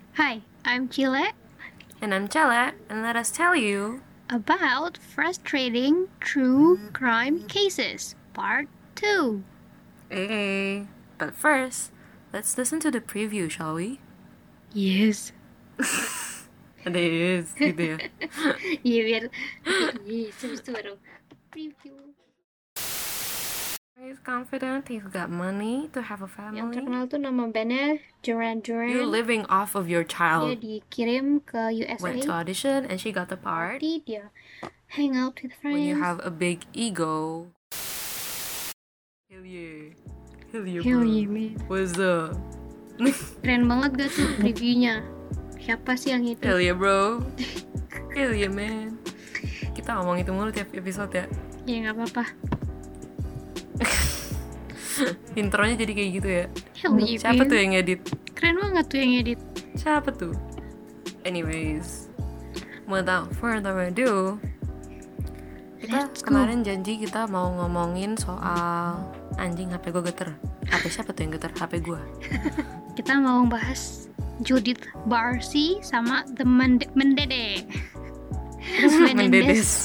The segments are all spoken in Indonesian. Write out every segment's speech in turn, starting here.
Hi, I'm Chile And I'm Chela, and let us tell you about frustrating true crime cases, part 2. Hey. But first, let's listen to the preview, shall we? Yes. Ada yes gitu ya. Iya biar yes, habis itu baru preview. He's confident, he's got money to have a Yang family. terkenal tuh nama bandnya Duran Duran. You're living off of your Dia child. dikirim ke USA. Went to audition and she got the part. Party, dia hang out with friends. When you have a big ego. Hell yeah. Hell yeah, Hell bro. yeah, man. What's up? Keren banget gak tuh previewnya? Siapa sih yang itu? Hell yeah, bro. Hell yeah, man. Kita ngomong itu mulu tiap episode ya. Ya gak apa-apa. Intronya jadi kayak gitu ya. Hell yeah, Siapa man. tuh yang edit? Keren banget tuh yang edit. Siapa tuh? Anyways, without further ado, kita Let's go. kemarin janji kita mau ngomongin soal anjing HP gue geter. HP siapa tuh yang geter? HP gue. Kita mau bahas Judith Barsi sama The Mendede. Mendedes.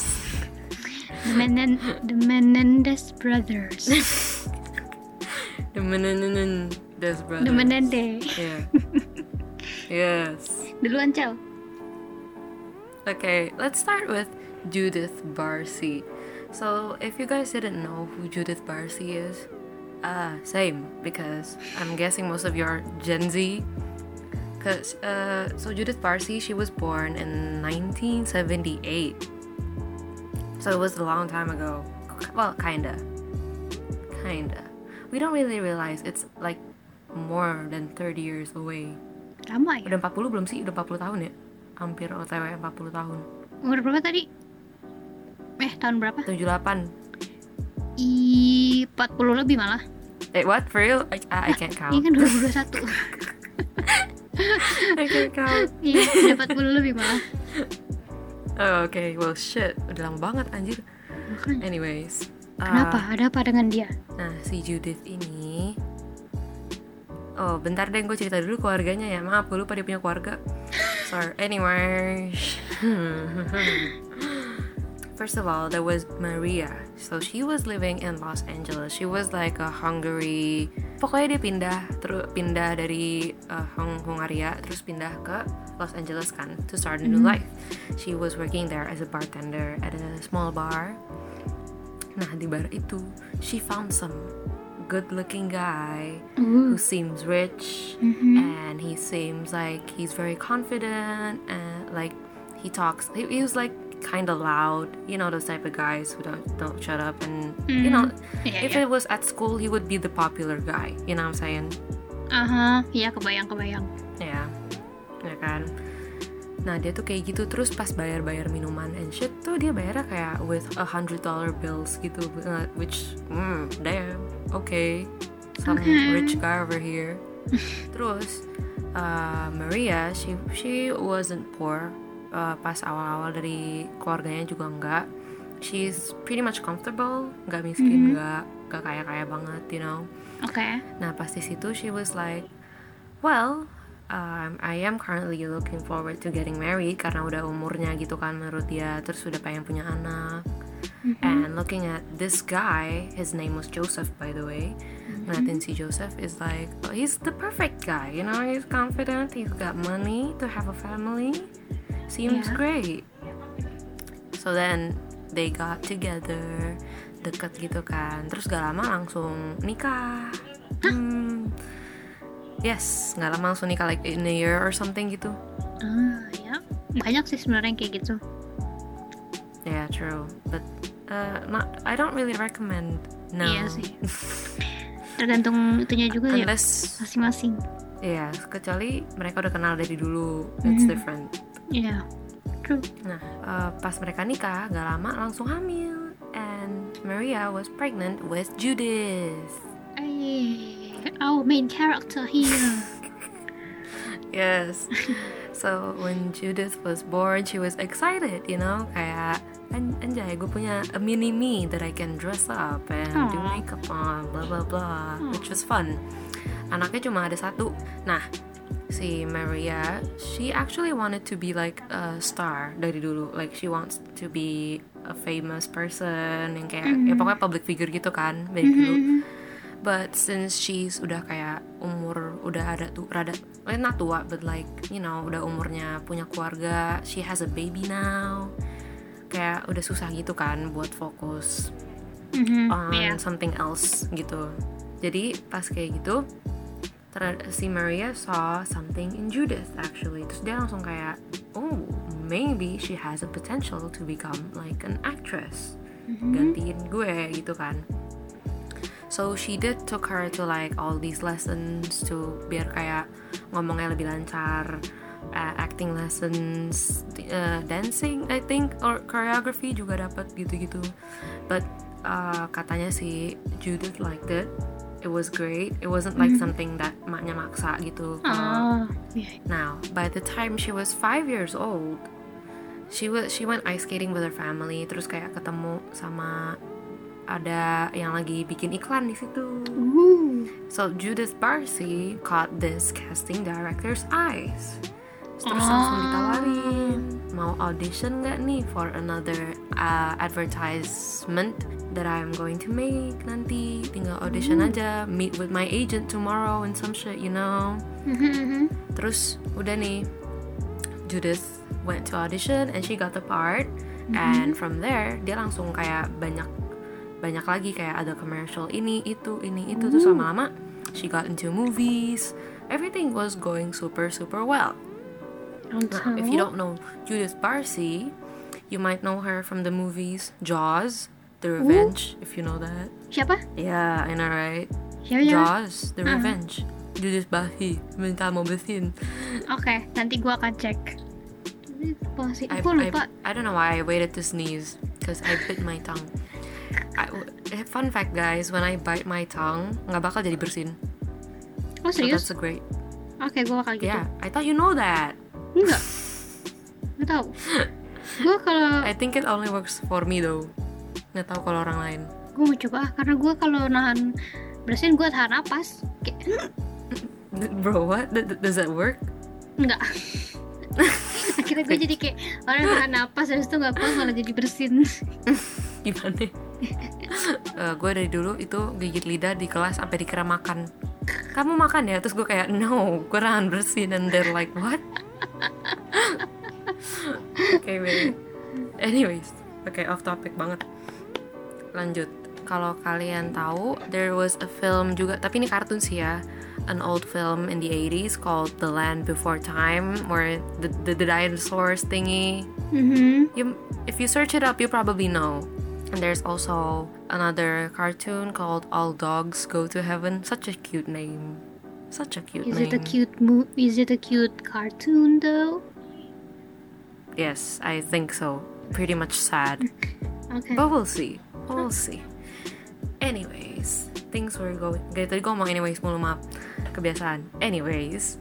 The Menendez Brothers. The Menendez brothers. The Menende. Yeah. Yes. Duluan, Cel. Okay, let's start with Judith Barsi. So, if you guys didn't know who Judith Barsi is, same, because I'm guessing most of you are Gen Z. So Judith Barsi, she was born in 1978. So it was a long time ago. Well, kinda. We don't really realize it's like more than 30 years away. Lama ya? Udah 40 belum sih? Udah 40 tahun ya? Hampir OTW 40 tahun. Umur berapa tadi? Tahun berapa? 78. 40 lebih malah. What? For real? I can't Ini count. kan 2021. I can't count. Iya, udah 40 lebih malah. Oh, okay. Well, shit. Udah lama banget, anjir. Makanya. Anyways. Kenapa? Ada apa dengan dia? Nah, si Judith ini... Oh, bentar deh, gue cerita dulu keluarganya ya. Maaf, gue lupa dia punya keluarga. Sorry. Anyways. First of all, there was Maria. So she was living in Los Angeles. She was like a Hungary. Pokoknya dia pindah dari Hungaria, terus pindah ke Los Angeles kan, to start a new life. She was working there as a bartender at a small bar. Nah, di bar itu, she found some good-looking guy who seems rich, and he seems like he's very confident, and like he talks. He was like kind of loud, you know, those type of guys who don't shut up, and you know, if it was at school, he would be the popular guy. You know what I'm saying? Iya, kebayang. Ya kan. Nah, dia tuh kayak gitu. Terus pas bayar minuman and shit tuh, dia bayarnya kayak with $100 bills gitu, which damn, okay, some rich guy over here. Terus Maria, she wasn't poor. Pas awal-awal dari keluarganya juga enggak. She's pretty much comfortable, nggak miskin, nggak kaya banget, you know. Oke. Nah, pas di situ she was like, well, I am currently looking forward to getting married, karena udah umurnya gitu kan menurut dia, terus udah pengen punya anak. And looking at this guy, his name was Joseph, by the way. Ngeliatin si Joseph is like, oh, he's the perfect guy, you know, he's confident, he's got money to have a family, seems great. So then they got together, deket gitu kan, terus gak lama langsung nikah. Yes, gak lama langsung nikah, like in a year or something gitu. Ya. Banyak sih sebenarnya yang kayak gitu. Yeah, true. But I don't really recommend. No. Iya sih. Tergantung itunya juga ya, Unless, masing-masing. yeah, kecuali mereka udah kenal dari dulu. It's different. Iya, true. Nah, pas mereka nikah, gak lama langsung hamil. And Maria was pregnant with Judith. Our main character here. Yes. So when Judith was born, she was excited, you know, kayak anjay, gue punya a mini me that I can dress up and do makeup on, blah blah blah, which was fun. Anaknya cuma ada satu. Nah, si Maria, she actually wanted to be like a star dari dulu. Like she wants to be a famous person yang kayak ya pokoknya public figure gitu kan dari dulu. But since she's udah kayak umur udah ada tuh rada not tua but like you know udah umurnya punya keluarga, she has a baby now. Kayak udah susah gitu kan buat fokus on something else gitu. Jadi pas kayak gitu si Maria saw something in Judith actually. Terus dia langsung kayak, oh maybe she has a potential to become like an actress. Gantiin gue gitu kan. So she did took her to like all these lessons to biar kayak ngomongnya lebih lancar, acting lessons, dancing I think or choreography juga dapat gitu-gitu. But katanya si Judith liked it. It was great. It wasn't like something that maknya maksa gitu. Now, by the time she was 5 years old, she went ice skating with her family. Terus kayak ketemu sama ada yang lagi bikin iklan di situ. So Judith Barsi caught this casting director's eyes. Terus langsung ditawarin, mau audition nggak nih for another advertisement that I'm going to make nanti. Tinggal audition aja, meet with my agent tomorrow and some shit, you know. Terus udah nih, Judith went to audition and she got the part. And from there dia langsung kayak banyak lagi kayak ada commercial ini itu terus lama-lama she got into movies. Everything was going super well. Now, if you don't know Judith Barsi, you might know her from the movies Jaws, The Revenge, if you know that. Siapa? Yeah, I know right. Siapa? Jaws, The Revenge. Judith Barsi, minta mau bersin. Oke, nanti gua akan cek. Aku lupa. I don't know why I waited to sneeze because I bit my tongue. Fun fact guys, when I bite my tongue nggak bakal jadi bersin. Oh serius? So that's great. Oke, gue bakal gitu. Yeah, I thought you know that. Enggak. Nggak tahu. Gue kalau I think it only works for me though. Nggak tahu kalau orang lain. Gue mau coba karena gue kalau nahan bersin gue tahan napas. Bro, what? Does that work? Enggak. Akhirnya gue jadi kayak orang tahan napas habis itu nggak pas malah jadi bersin. Gimana? Gue dari dulu itu gigit lidah di kelas sampai dikira makan. Kamu makan ya? Terus gue kayak no, gue nahan bersin. And they're like what? Okay, wait. Anyways, okay, off topic banget. Lanjut. Kalau kalian tahu, there was a film juga, tapi ini kartun sih ya. An old film in the 80s called The Land Before Time, where the dinosaurs thingy. If you search it up, you probably know. And there's also another cartoon called All Dogs Go to Heaven. Such a cute name. Such a cute name. Is it a cute cartoon though? Yes, I think so. Pretty much sad. Okay. But we'll see. We'll see. Anyways, things were going. Gaya tadi gue ngomong anyways mulu, maaf. Kebiasaan. Anyways.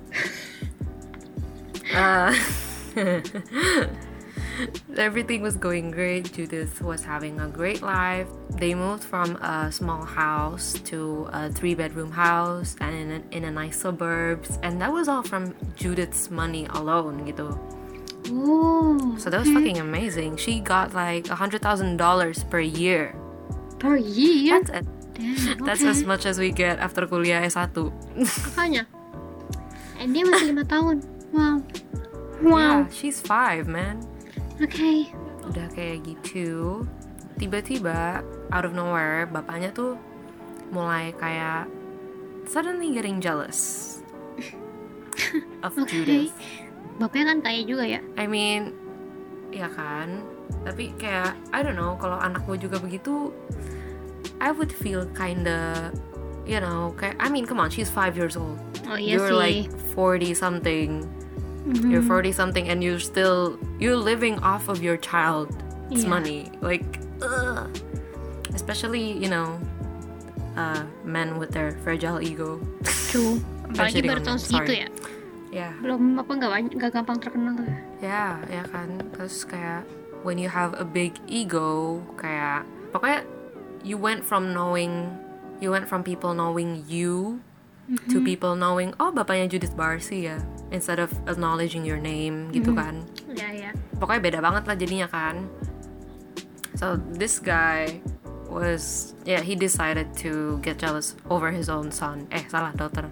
Everything was going great. Judith was having a great life. They moved from a small house to a 3-bedroom house and in a nice suburbs, and that was all from Judith's money alone gitu. Oh, So that was fucking amazing. She got like $100,000 per year. per year? That's it. Damn, That's okay. as much as we get after kuliah S1. Makanya. And dia masih 5 tahun. Wow. Yeah, she's 5, man. Okay. Udah kayak gitu, tiba-tiba out of nowhere bapaknya tuh mulai kayak suddenly getting jealous of Okay. Judith. Bapaknya kan kaya juga ya. I mean, ya kan, tapi kayak I don't know, kalau anak gue juga begitu, I would feel kinda, you know, kayak I mean, come on, she's 5 years old. Oh iya You're sih. like 40 something. You're 40 something and you're living off of your child's Yeah. money. Like, ugh. Especially, you know, men with their fragile ego. True. Apalagi shitting baru on tahun them, segitu sorry. ya. Yeah. Belum nggak gampang terkenal tuh. Ya kan. Terus kayak when you have a big ego, kayak pokoknya you went from people knowing you to people knowing, oh bapaknya Judith Barsi ya, instead of acknowledging your name gitu kan. Ya. Pokoknya beda banget lah jadinya kan. So this guy was, he decided to get jealous over his own son. Daughter.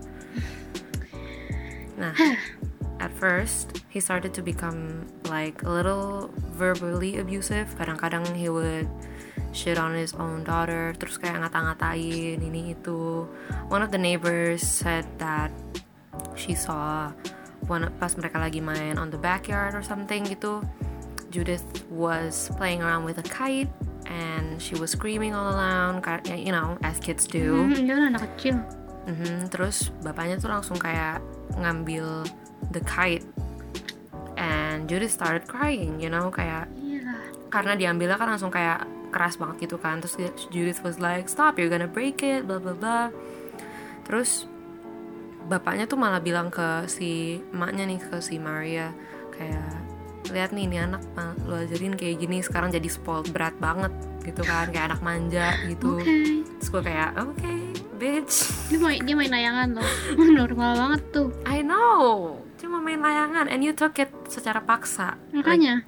Nah, at first he started to become like a little verbally abusive. Kadang-kadang he would shit on his own daughter, terus kayak ngata-ngatain ini itu. One of the neighbors said that she saw pas mereka lagi main on the backyard or something gitu, Judith was playing around with a kite and she was screaming all around, you know, as kids do. Dia kan anak kecil. Terus bapaknya tuh langsung kayak ngambil the kite and Judith started crying, you know, kayak karena diambilnya kan langsung kayak keras banget gitu kan. Terus Judith was like, stop, you're gonna break it, blah blah blah. Terus bapaknya tuh malah bilang ke si emaknya nih, ke si Maria, kayak lihat nih, ini anak lu ajarin kayak gini, sekarang jadi spoiled brat banget gitu kan, kayak anak manja gitu. Terus gue kayak okay, bitch. Dia main layangan loh. Normal banget tuh. I know, cuma main layangan and you took it secara paksa. Makanya.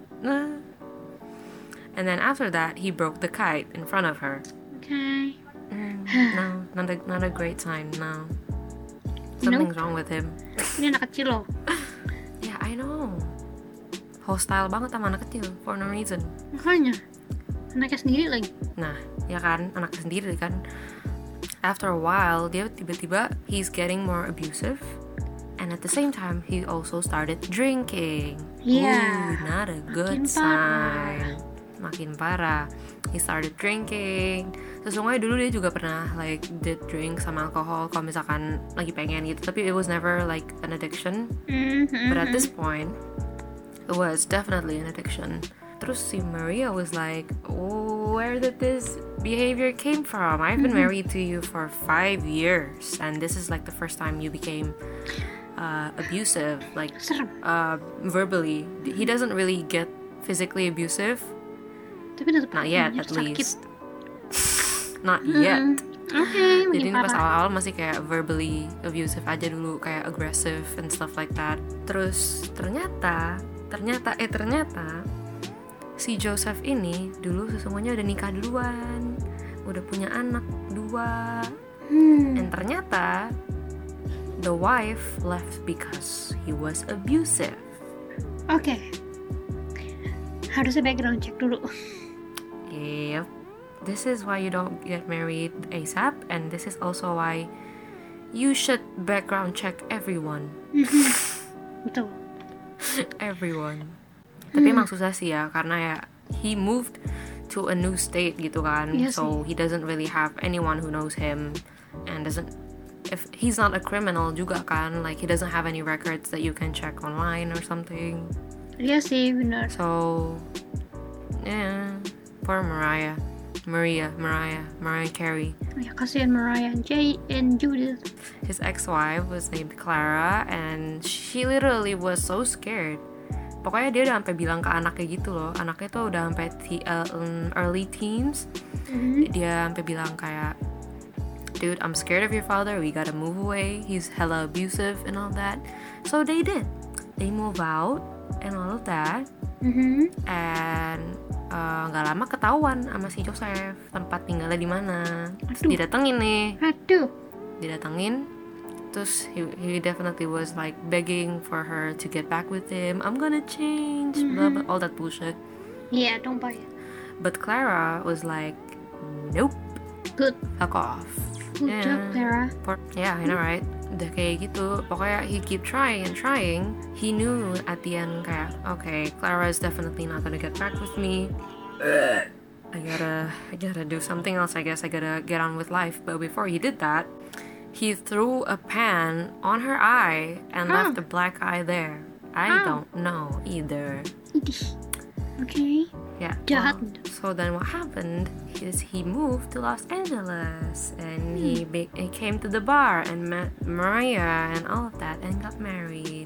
And then after that, he broke the kite in front of her. Okay. No, not a great sign. No, something's wrong with him. Ini anak kecil loh. Yeah, I know. Hostile banget sama anak kecil for no reason. Makanya, anaknya sendiri lagi. Nah, ya kan, anaknya sendiri kan. After a while, dia tiba-tiba he's getting more abusive, and at the same time he also started drinking. Yeah. Ooh, not a good sign. Makin parah. He started drinking. Sesungguhnya dulu dia juga pernah like did drink sama alkohol kalau misalkan lagi pengen gitu, tapi it was never like an addiction. But at this point it was definitely an addiction. Terus si Maria was like, where did this behavior came from? I've been married to you for 5 years and this is like the first time you became abusive, like verbally. He doesn't really get physically abusive. Tapi tetap not yet, at least. Not yet. Okay, jadi pas awal-awal masih kayak verbally abusive aja dulu, kayak aggressive and stuff like that. Terus ternyata si Joseph ini dulu sesungguhnya udah nikah duluan, udah punya anak 2. And ternyata the wife left because he was abusive. Okay. Harusnya background check dulu. Yep. This is why you don't get married ASAP, and this is also why you should background check everyone. Betul. Everyone. Tapi emang susah sih ya, karena ya he moved to a new state gitu kan. Yes, so he doesn't really have anyone who knows him, and if he's not a criminal juga kan, like he doesn't have any records that you can check online or something. Iya sih, benar. So yeah, poor Mariah Carey. Ya, kasihan Mariah and Judith. His ex-wife was named Clara, and she literally was so scared. Pokoknya dia udah sampai bilang ke anaknya gitu loh. Anaknya tuh udah sampai early teens. Dia sampai bilang kayak, dude, I'm scared of your father, we gotta move away, he's hella abusive and all that. So they did. They move out and all of that. And nggak lama ketahuan sama si Joseph tempat tinggalnya di mana. Didatengin nih. Didatengin. Terus he definitely was like begging for her to get back with him. I'm gonna change, blah blah, all that bullshit. Yeah, don't buy it. But Clara was like, nope. Good. Fuck off. Good job, Clara. Yeah, I know, right? Udah kayak gitu. Pokoknya he keep trying and trying. He knew at the end kayak, okay, Clara is definitely not gonna get back with me. I gotta do something else, I guess. I gotta get on with life. But before he did that, he threw a pan on her eye and left a black eye there. I don't know either. Okay. Yeah. Jahat. So then what happened is he moved to Los Angeles and he came to the bar and met Mariah and all of that and got married.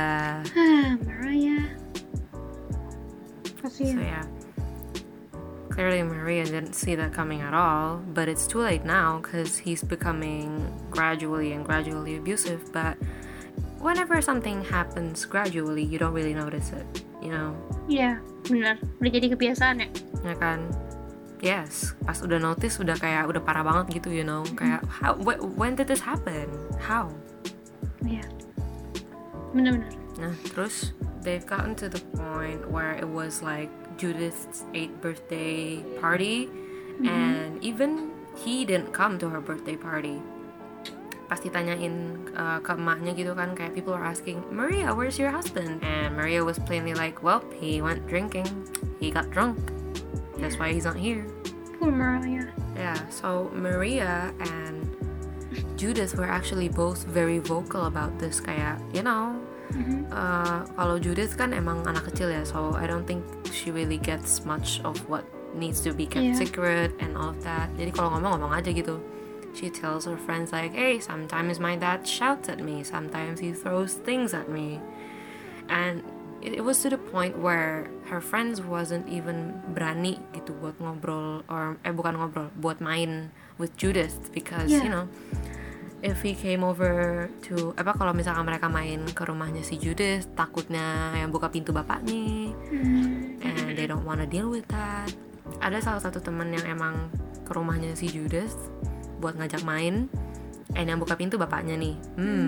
Mariah. So yeah. clearly Maria didn't see that coming at all, but it's too late now because he's becoming gradually abusive. But whenever something happens gradually, you don't really notice it, you know? Iya, benar. Udah jadi kebiasaan ya. Ya kan? Yes, pas udah notice udah kayak udah parah banget gitu, you know? Kayak when did this happen? How? Iya. Benar-benar. Nah, terus they've gotten to the point where it was like Judith's 8th birthday party, and even he didn't come to her birthday party. Pas ditanyain ke emaknya gitu kan, kayak people are asking, Maria, where's your husband? And Maria was plainly like, well, he went drinking. He got drunk. That's why he's not here. Poor Maria. Yeah, so Maria and Judith were actually both very vocal about this. Kayak, you know, kalau Judith kan emang anak kecil ya, so I don't think she really gets much of what needs to be kept secret and all of that. Jadi kalau ngomong aja gitu. She tells her friends like, hey, sometimes my dad shouts at me, sometimes he throws things at me. And it was to the point where her friends wasn't even berani gitu buat ngobrol, or bukan ngobrol, buat main with Judith, because you know, if he came over to kalau misalkan mereka main ke rumahnya si Judith, takutnya yang buka pintu bapaknya, and they don't wanna deal with that. Ada salah satu teman yang emang ke rumahnya si Judith buat ngajak main, and yang buka pintu bapaknya nih.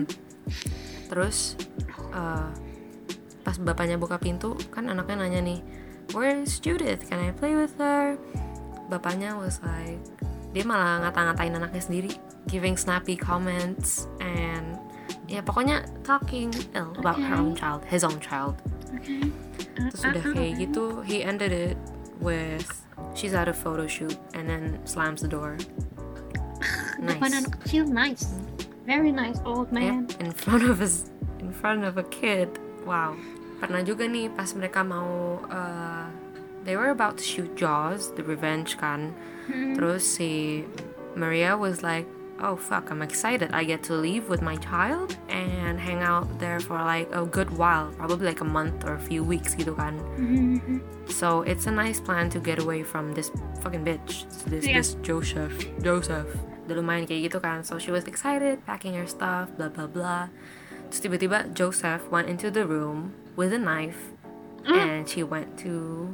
Terus pas bapaknya buka pintu, kan anaknya nanya nih, where's Judith? Can I play with her? Bapaknya was like, dia malah ngata-ngatain anaknya sendiri, giving snappy comments, and ya pokoknya talking ill about her own child, his own child. Terus udah kayak gitu, he ended it with, she's at a photo shoot, and then slams the door. Depan anak kecil, nice, very nice old man. Yeah, in front of a kid. Wow. Pernah juga nih pas mereka mau they were about to shoot Jaws, the revenge kan. Terus si Maria was like, oh fuck, I'm excited, I get to leave with my child and hang out there for like a good while, probably like a month or a few weeks gitu kan. So it's a nice plan to get away from this fucking bitch, this Joseph. Udah lumayan kayak gitu kan. So she was excited, packing her stuff, blah blah blah. Terus tiba-tiba Joseph went into the room with a knife, and she went to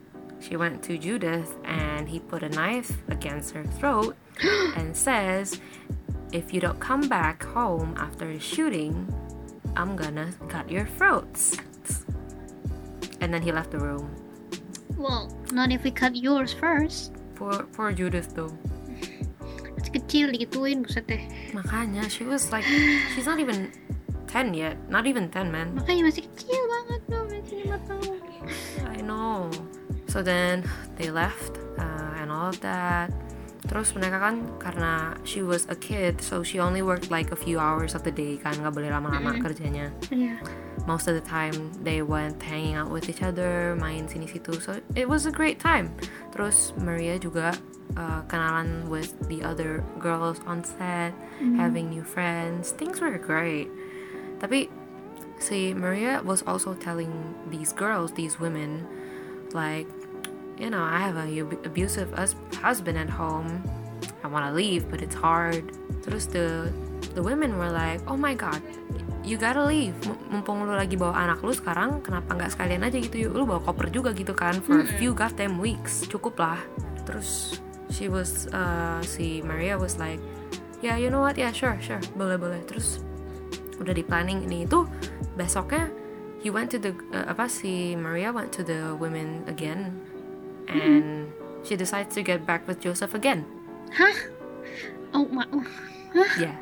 Judith, and he put a knife against her throat and says, if you don't come back home after the shooting, I'm gonna cut your throats. And then he left the room. Well, not if we cut yours first. Poor Judith though. Masih kecil digituin, buset deh. Makanya, she was like, she's not even 10 yet, not even 10, man. Makanya masih kecil banget loh, masih 5 tahun. I know. So then they left and all of that. Terus mereka kan, karena she was a kid, so she only worked like a few hours of the day kan, nggak boleh lama-lama kerjanya. Most of the time they went hanging out with each other, main sini situ, so it was a great time. Terus Maria juga kenalan with the other girls on set, having new friends. Things were great. Tapi si Maria was also telling these girls, these women, like, you know, I have a abusive husband at home. I want to leave, but it's hard. Terus the women were like, oh my god, you gotta leave. Mumpung lu lagi bawa anak lu sekarang, kenapa nggak sekalian aja gitu, lu bawa koper juga gitu kan, for a few goddamn weeks, cukup lah. Terus si Maria was like, yeah, you know what, yeah, sure, boleh. Terus udah di planning ini itu, besoknya he went to si Maria went to the women again, and she decides to get back with Joseph again. Hah? Oh my. Yeah,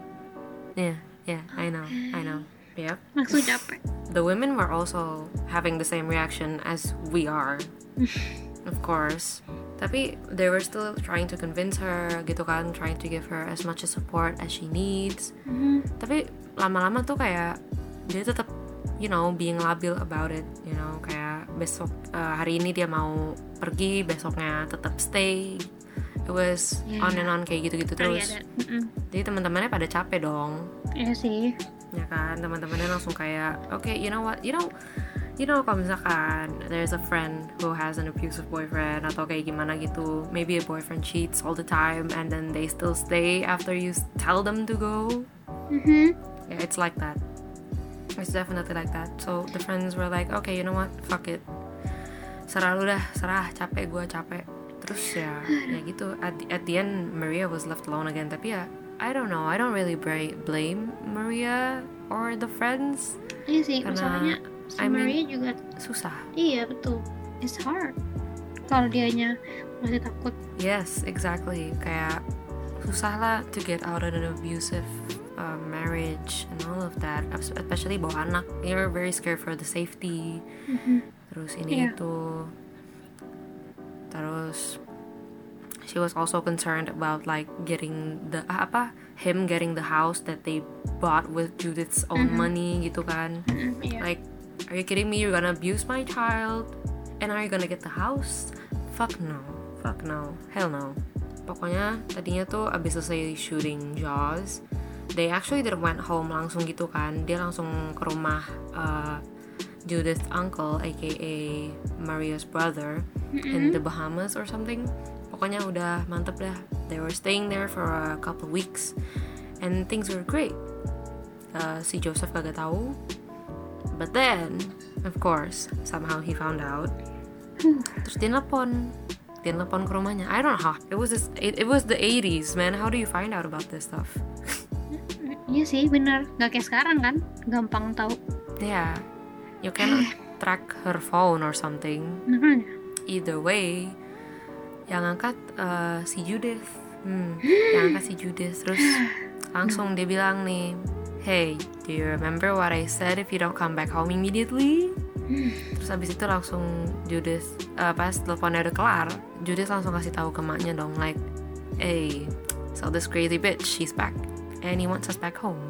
I know. Yep. Langsung capek. The women were also having the same reaction as we are, of course. Tapi they were still trying to convince her, gitu kan, trying to give her as much support as she needs. Tapi lama-lama tuh kayak dia tetap, you know, being labil about it, you know, kayak besok hari ini dia mau pergi, besoknya tetap stay. It was on and on kayak gitu-gitu terus. Jadi teman-temannya pada capek dong. Iya sih. Ya kan, teman-temannya langsung kayak, okay, you know what, you you know, kalau misalkan there's a friend who has an abusive boyfriend atau kayak gimana gitu, maybe a boyfriend cheats all the time and then they still stay after you tell them to go. Yeah, it's like that. It's definitely like that. So the friends were like, okay, you know what, fuck it, serah lu dah, serah, capek gue, capek. Terus ya gitu, at the end Maria was left alone again. Tapi ya I don't know, I don't really blame Maria or the friends. Iya sih, masalahnya si Maria juga susah. Iya betul, it's hard kalau dianya masih takut. Yes, exactly. Kayak susah lah to get out of an abusive marriage and all of that, especially bawa anak. You're very scared for the safety. Terus ini itu. Terus she was also concerned about like getting the him getting the house that they bought with Judith's own money gitu kan. Like, are you kidding me? You're gonna abuse my child and are you gonna get the house? Fuck no, hell no. Pokoknya tadinya tuh abis selesai shooting Jaws, they actually didn't went home langsung gitu kan. Dia langsung ke rumah Judith's uncle aka Maria's brother in the Bahamas or something. Pokoknya udah mantep dah. They were staying there for a couple weeks and things were great. Si Joseph kagak tahu, but then of course somehow he found out. Terus dia nelpon ke rumahnya. I don't know how. It was the 80s, man. How do you find out about this stuff? Iya sih, bener. Gak kayak sekarang kan, gampang tahu. Yeah, you cannot track her phone or something. Either way, yang angkat si Judith. Yang angkat si Judith. Terus langsung dia bilang nih, hey, do you remember what I said if you don't come back home immediately? Terus abis itu langsung Judith, pas teleponnya udah kelar, Judith langsung kasih tahu ke maknya dong, like, hey, so this crazy bitch, she's back and he wants us back home.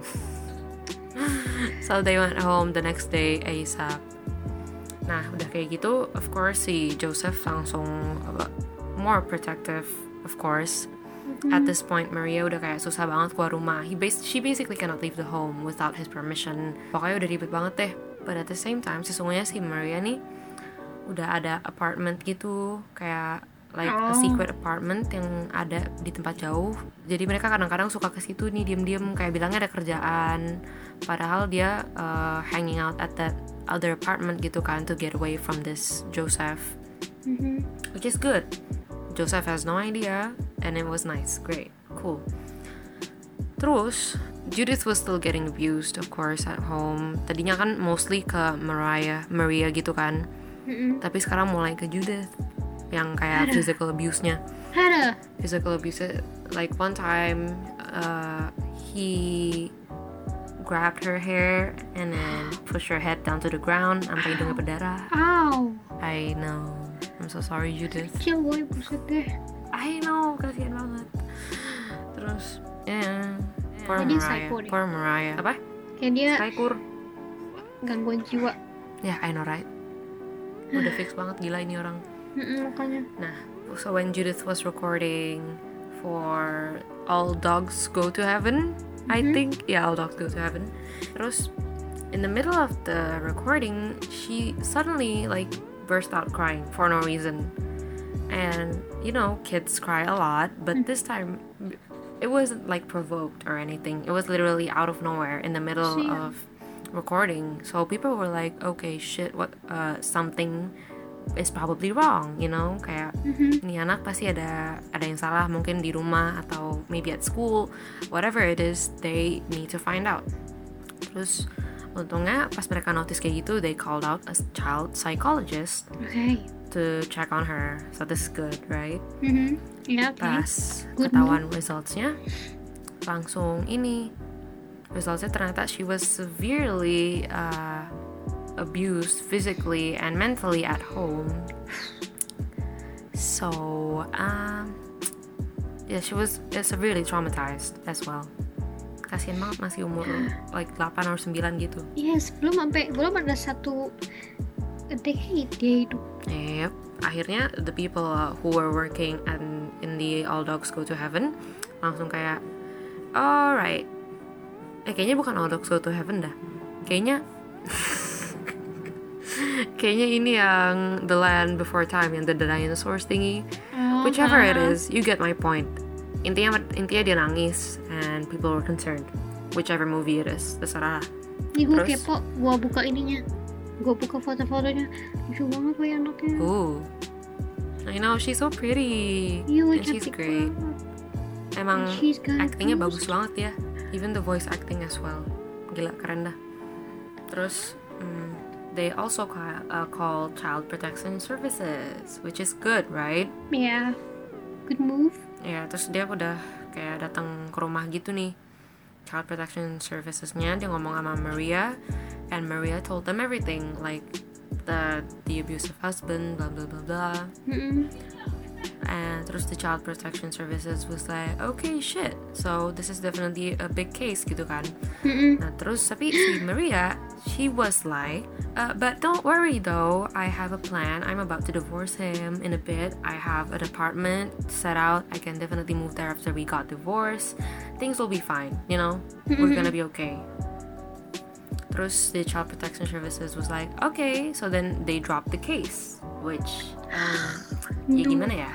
So they went home the next day ASAP. Nah udah kayak gitu, of course si Joseph langsung more protective, of course. At this point Maria udah kayak susah banget keluar rumah. She basically cannot leave the home without his permission. Pokoknya udah ribet banget deh. But at the same time, sesungguhnya si Maria nih udah ada apartment gitu, kayak like a secret apartment yang ada di tempat jauh. Jadi mereka kadang-kadang suka ke situ nih diam-diam, kayak bilangnya ada kerjaan, padahal dia hanging out at that other apartment gitu kan, to get away from this Joseph. Which is good. Joseph has no idea and it was nice, great, cool. Terus Judith was still getting abused, of course, at home. Tadinya kan mostly ke Maria gitu kan. Tapi sekarang mulai ke Judith yang kayak physical abuse-nya. Physical abuse, like one time he grabbed her hair and then pushed her head down to the ground sampai hidungnya berdarah. Ow. I know. I'm so sorry, Judith. Kecil boy, buset deh. I know, kasihan banget. Terus, yeah. Poor Mariah. Apa? Kayak dia Psykur. gangguan jiwa. Yeah, I know, right? Udah fix banget, gila ini orang. Makanya. Nah, so when Judith was recording for All Dogs Go to Heaven, I think, yeah, All Dogs Go to Heaven. Terus, in the middle of the recording, she suddenly like burst out crying for no reason. And you know, kids cry a lot, but this time it wasn't like provoked or anything. It was literally out of nowhere in the middle of recording. So people were like, okay, shit, what something is probably wrong, you know, kayak ini anak pasti ada yang salah, mungkin di rumah atau maybe at school, whatever it is, they need to find out. Terus untungnya pas mereka notice kayak gitu, they called out a child psychologist to check on her. So this is good, right? Yeah, okay. Pas ketahuan resultsnya, langsung ini resultsnya ternyata she was severely abused physically and mentally at home. So yeah, she was severely traumatized as well. Kasian banget, masih umur like 8 or 9 gitu. Yes, belum ada satu decade dia hidup. Yep. Akhirnya the people who were working in the All Dogs Go to Heaven langsung kayak, alright, kayaknya bukan All Dogs Go to Heaven dah, kayaknya Kayaknya ini yang The Land Before Time, yang The Dinosaurs thingy. Whichever it is, you get my point. Intinya dia nangis and people were concerned. Whichever movie it is, terserah. Nih gue Terus? kepo, gue buka ininya, gue buka foto-fotonya, lucu banget kayak anaknya. Ooh, I know, she's so pretty. Iya, And she's cantik great. banget. Emang She's got actingnya those. bagus banget ya. Even the voice acting as well. Gila, keren dah. Terus they also call Child Protection Services, which is good, right? Yeah, good move. Ya, terus dia udah kayak datang ke rumah gitu nih, Child Protection Services-nya. Dia ngomong sama Maria, and Maria told them everything, like the abusive husband, blah blah blah blah. And terus the Child Protection Services was like, okay, shit, so this is definitely a big case gitu kan. Nah terus tapi si Maria, she was like, but don't worry though, I have a plan. I'm about to divorce him in a bit. I have an apartment set out. I can definitely move there after we got divorced. Things will be fine, you know. We're gonna be okay. Terus the Child Protection Services was like, okay, so then they dropped the case, which ya gimana ya?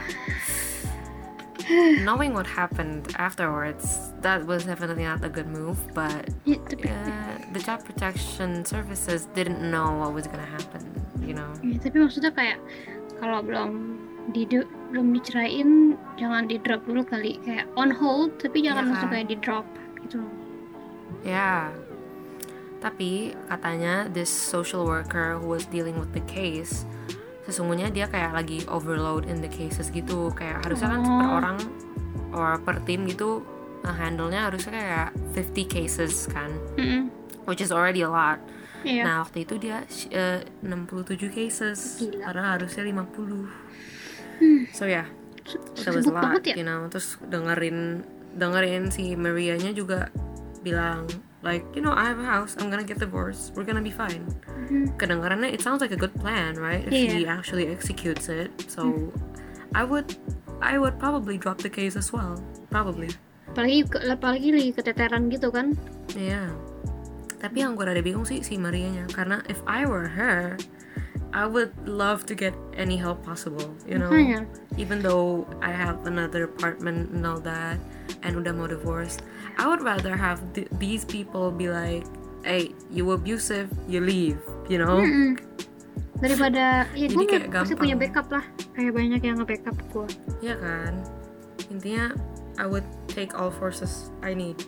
Knowing what happened afterwards, that was definitely not a good move, but Ya, tapi, the Child Protection Services didn't know what was gonna happen, you know. ya, tapi maksudnya kayak kalau belum diceraiin, jangan di drop dulu kali, kayak on hold, tapi jangan Iya langsung kan? kayak di drop gitu. Ya, tapi katanya this social worker who was dealing with the case, sesungguhnya dia kayak lagi overload in the cases gitu. Kayak harusnya kan per orang or per tim gitu, handle-nya harusnya kayak 50 cases kan, which is already a lot. Iya. Nah waktu itu dia 67 cases. Gila. Karena harusnya 50. So yeah, that was a Sibuk lot, banget ya. you know. Terus dengerin si Maria-nya juga bilang like, you know, I have a house, I'm gonna get divorced, we're gonna be fine. Kedengarannya it sounds like a good plan, right? If Iya. he actually executes it. So I would probably drop the case as well, probably. Apalagi lagi keteteran gitu kan. Yeah. Tapi yang gue rada bingung sih si Marianya, karena if I were her, I would love to get any help possible, you know. Makanya. Even though I have another apartment and all that, and udah mau divorce, I would rather have these people be like, hey, you abusive, you leave, you know. Daripada ya Jadi gue kayak pasti gampang. punya backup lah, kayak banyak yang nge-backup gue. Ya kan. Intinya I would take all forces I need.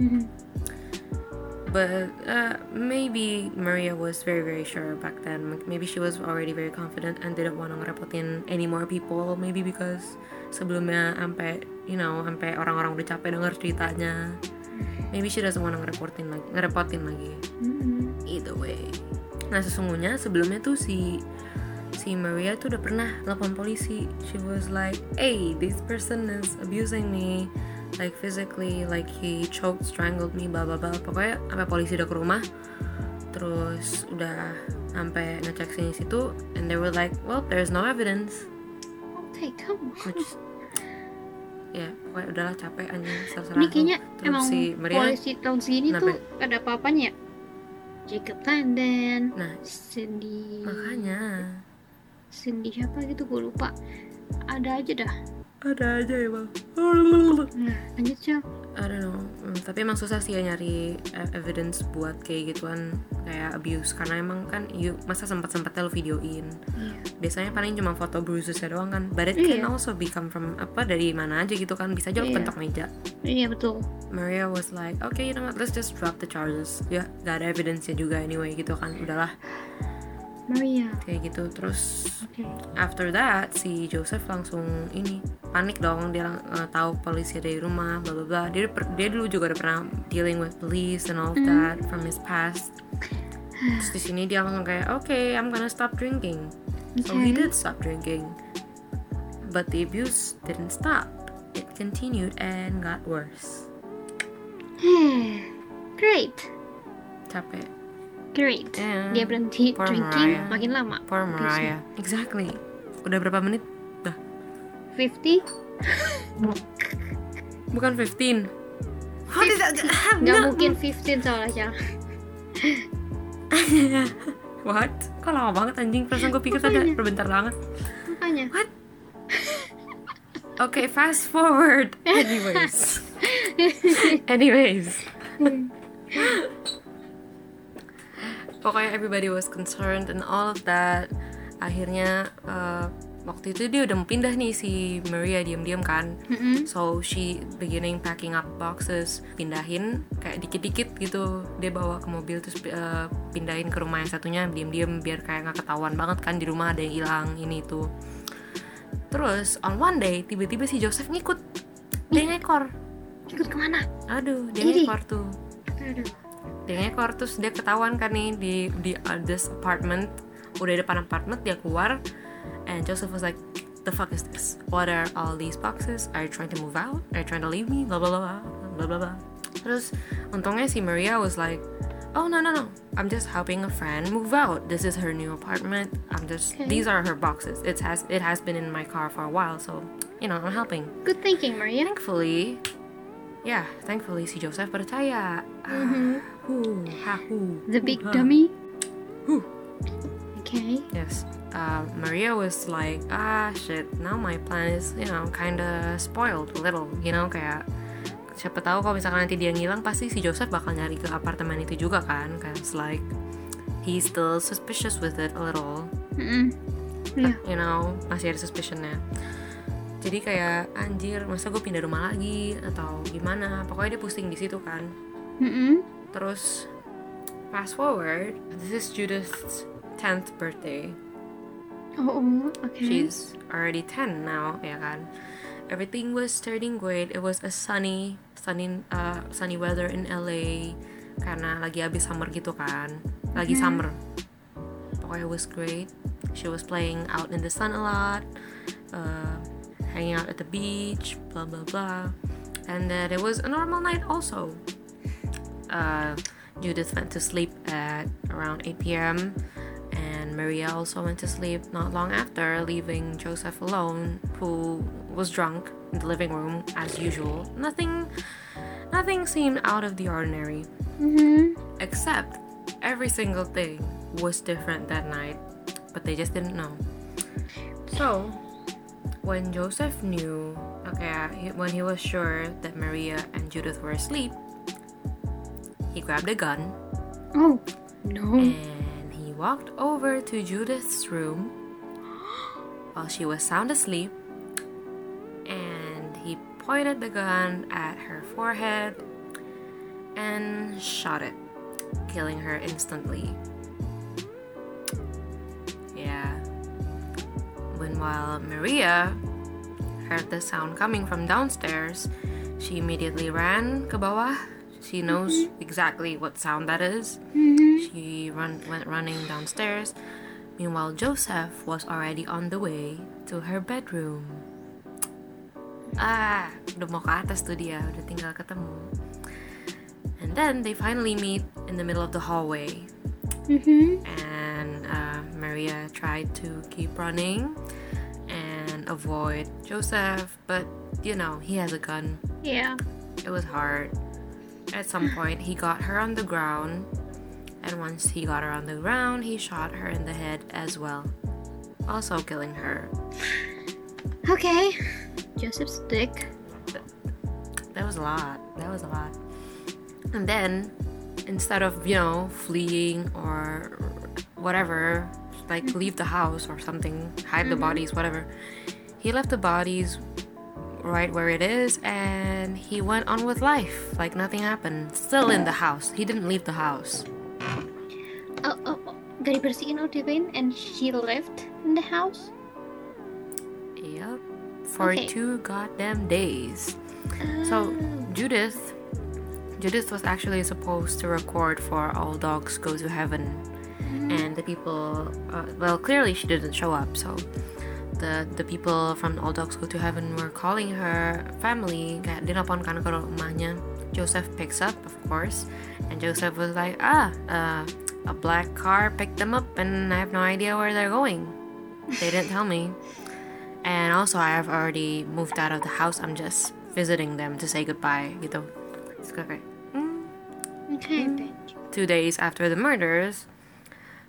But maybe Maria was very very sure back then. Maybe she was already very confident and didn't want to ngerepotin any more people. Maybe because sebelumnya sampai orang-orang udah capek denger ceritanya. Maybe she doesn't want to ngerepotin lagi. Either way. Nah sesungguhnya sebelumnya tuh si Maria tuh udah pernah telepon polisi. She was like, hey, this person is abusing me, like physically, like he choked, strangled me, blah blah blah. Pokoknya sampai polisi udah ke rumah, terus udah sampai ngecek sini situ, and they were like, well, there's no evidence. Hey, come on. Which, ya pokoknya udahlah, capek anjing, serah-serah. Ini kayaknya Terus emang si Maria, polisi tahun segini kenapa? tuh ada apa-apanya. Jacob London, Nah, Cindy makanya siapa gitu gue lupa. Ada aja dah. ada aja ya bang. Nah, lanjut Cel. I don't know, tapi emang susah sih ya nyari evidence buat kayak gituan, kayak abuse, karena emang kan masa sempet-sempetnya lo videoin. Biasanya paling cuma foto bruisesnya doang kan, but it can also become from dari mana aja gitu kan, bisa aja lo pentok meja. Iya betul. Maria was like, okay, you know what, let's just drop the charges. Ya, gak ada evidence-nya juga anyway gitu kan, udahlah. Maria. Kayak gitu. Terus Okay. after that si Joseph langsung panik dong, dia tahu polisi ada di rumah, bla bla bla. Dia dulu juga udah pernah dealing with police and all of that from his past. Terus di sini dia langsung kayak, okay, I'm gonna stop drinking. So he did stop drinking, but the abuse didn't stop. It continued and got worse. Great. Capek. Great. Yeah. Dia berhenti Poor drinking Mariah. makin lama. Poor Mariah. Exactly. Udah berapa menit? Dah. 50? Bukan 15. How did that happen? Nggak mungkin 15 soalnya Cel. What? Kok lama banget anjing? Perasaan gue pikir tadi bentar banget. Makanya. What? Okay, fast forward. Anyways. Pokoknya everybody was concerned and all of that. Akhirnya waktu itu dia udah mau pindah nih si Maria diam-diam kan. So she beginning packing up boxes, pindahin kayak dikit-dikit gitu. Dia bawa ke mobil terus pindahin ke rumah yang satunya diam-diam biar kayak nggak ketahuan banget kan di rumah ada yang hilang ini itu. Terus on one day tiba-tiba si Joseph ngikut. Dia ngekor. Ikut kemana? Aduh, dia ngekor tuh. Dia ngekor terus dia ketahuan kan nih di this apartment. Udah depan apartemen dia keluar. And Joseph was like, the fuck is this? What are all these boxes? Are you trying to move out? Are you trying to leave me? Blah blah blah blah blah blah. Terus untungnya si Maria was like, oh no, I'm just helping a friend move out. This is her new apartment. These are her boxes. It has been in my car for a while, so you know I'm helping. Good thinking, Maria. Thankfully si Joseph percaya. The big dummy. Okay. Yes. Maria was like, shit, now my plan is, kinda spoiled a little, kayak siapa tahu kalau misalkan nanti dia ngilang pasti si Joseph bakal nyari ke apartemen itu juga kan, cause like he's still suspicious with it a little. Masih ada suspicionnya. Jadi kayak anjir, masa gue pindah rumah lagi atau gimana? Pokoknya dia pusing di situ kan. Terus fast forward, this is Judith's 10th birthday. Oh, okay. She's already 10 now, ya kan. Everything was turning great. It was a sunny weather in LA karena lagi habis summer gitu kan. Lagi summer. Pokoknya it was great. She was playing out in the sun a lot, hanging out at the beach, blah blah blah. And then it was a normal night also. Judith went to sleep at around 8 p.m. and Maria also went to sleep not long after, leaving Joseph alone, who was drunk in the living room as usual. Nothing seemed out of the ordinary. Except every single thing was different that night, but they just didn't know. So when Joseph knew, when he was sure that Maria and Judith were asleep, he grabbed a gun. Oh, no. And he walked over to Judith's room while she was sound asleep, and he pointed the gun at her forehead and shot it, killing her instantly. Yeah. Meanwhile, Maria heard the sound coming from downstairs. She immediately ran ke bawah. She knows exactly what sound that is. She went running downstairs. Meanwhile, Joseph was already on the way to her bedroom. Udah mau ke atas tuh dia, udah tinggal ketemu. And then they finally meet in the middle of the hallway. And Maria tried to keep running and avoid Joseph, but he has a gun. Yeah. It was hard. At some point, he got her on the ground, and once he got her on the ground, he shot her in the head as well, also killing her. Okay. Joseph's dick. That was a lot. And then, instead of, fleeing or whatever, like leave the house or something, hide the bodies, whatever, he left the bodies right where it is, and he went on with life like nothing happened. Still in the house. He didn't leave the house. Gak dibersihin or diapain, and she left in the house? Yep. For 2 goddamn days. So Judith was actually supposed to record for All Dogs Go to Heaven, and the people clearly she didn't show up, so the people from All Dogs Go to Heaven were calling her family. Kayak dia nelfon kan ke rumahnya. Joseph picks up, of course, and Joseph was like, a black car picked them up and I have no idea where they're going. They didn't tell me. And also I have already moved out of the house. I'm just visiting them to say goodbye gitu. It's okay. 2 days after the murders,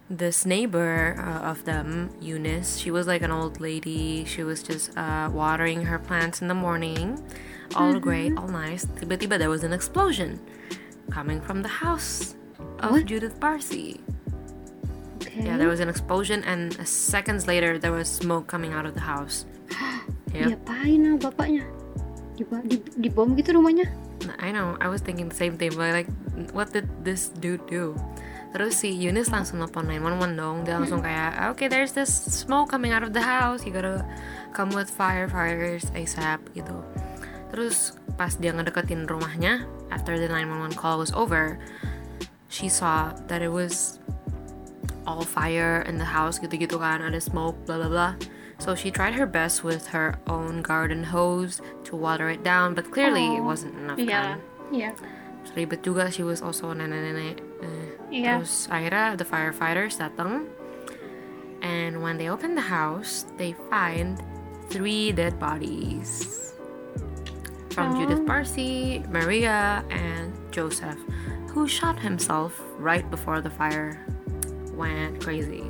this neighbor of them, Eunice, she was like an old lady. She was just watering her plants in the morning. All great, all nice. Tiba-tiba there was an explosion coming from the house of What? Judith Parsi. Okay. Yeah, there was an explosion, and seconds later there was smoke coming out of the house. Yep. Diapain bapaknya? Dibom gitu rumahnya? I know, I was thinking the same thing, but like, what did this dude do? Terus si Eunice langsung nelfon 911 dong. Dia langsung kayak, okay, there's this smoke coming out of the house, you gotta come with firefighters ASAP gitu. Terus pas dia ngedeketin rumahnya, after the 911 call was over, she saw that it was all fire in the house gitu-gitu kan, ada smoke, blah blah blah. So she tried her best with her own garden hose to water it down, but clearly it wasn't enough kan. Iya. Terus ribet juga, she was also nenek-nenek. Iya. Terus akhirnya the firefighters datang, and when they open the house, they find 3 dead bodies from Judith Parsi, Maria, and Joseph, who shot himself right before the fire went crazy.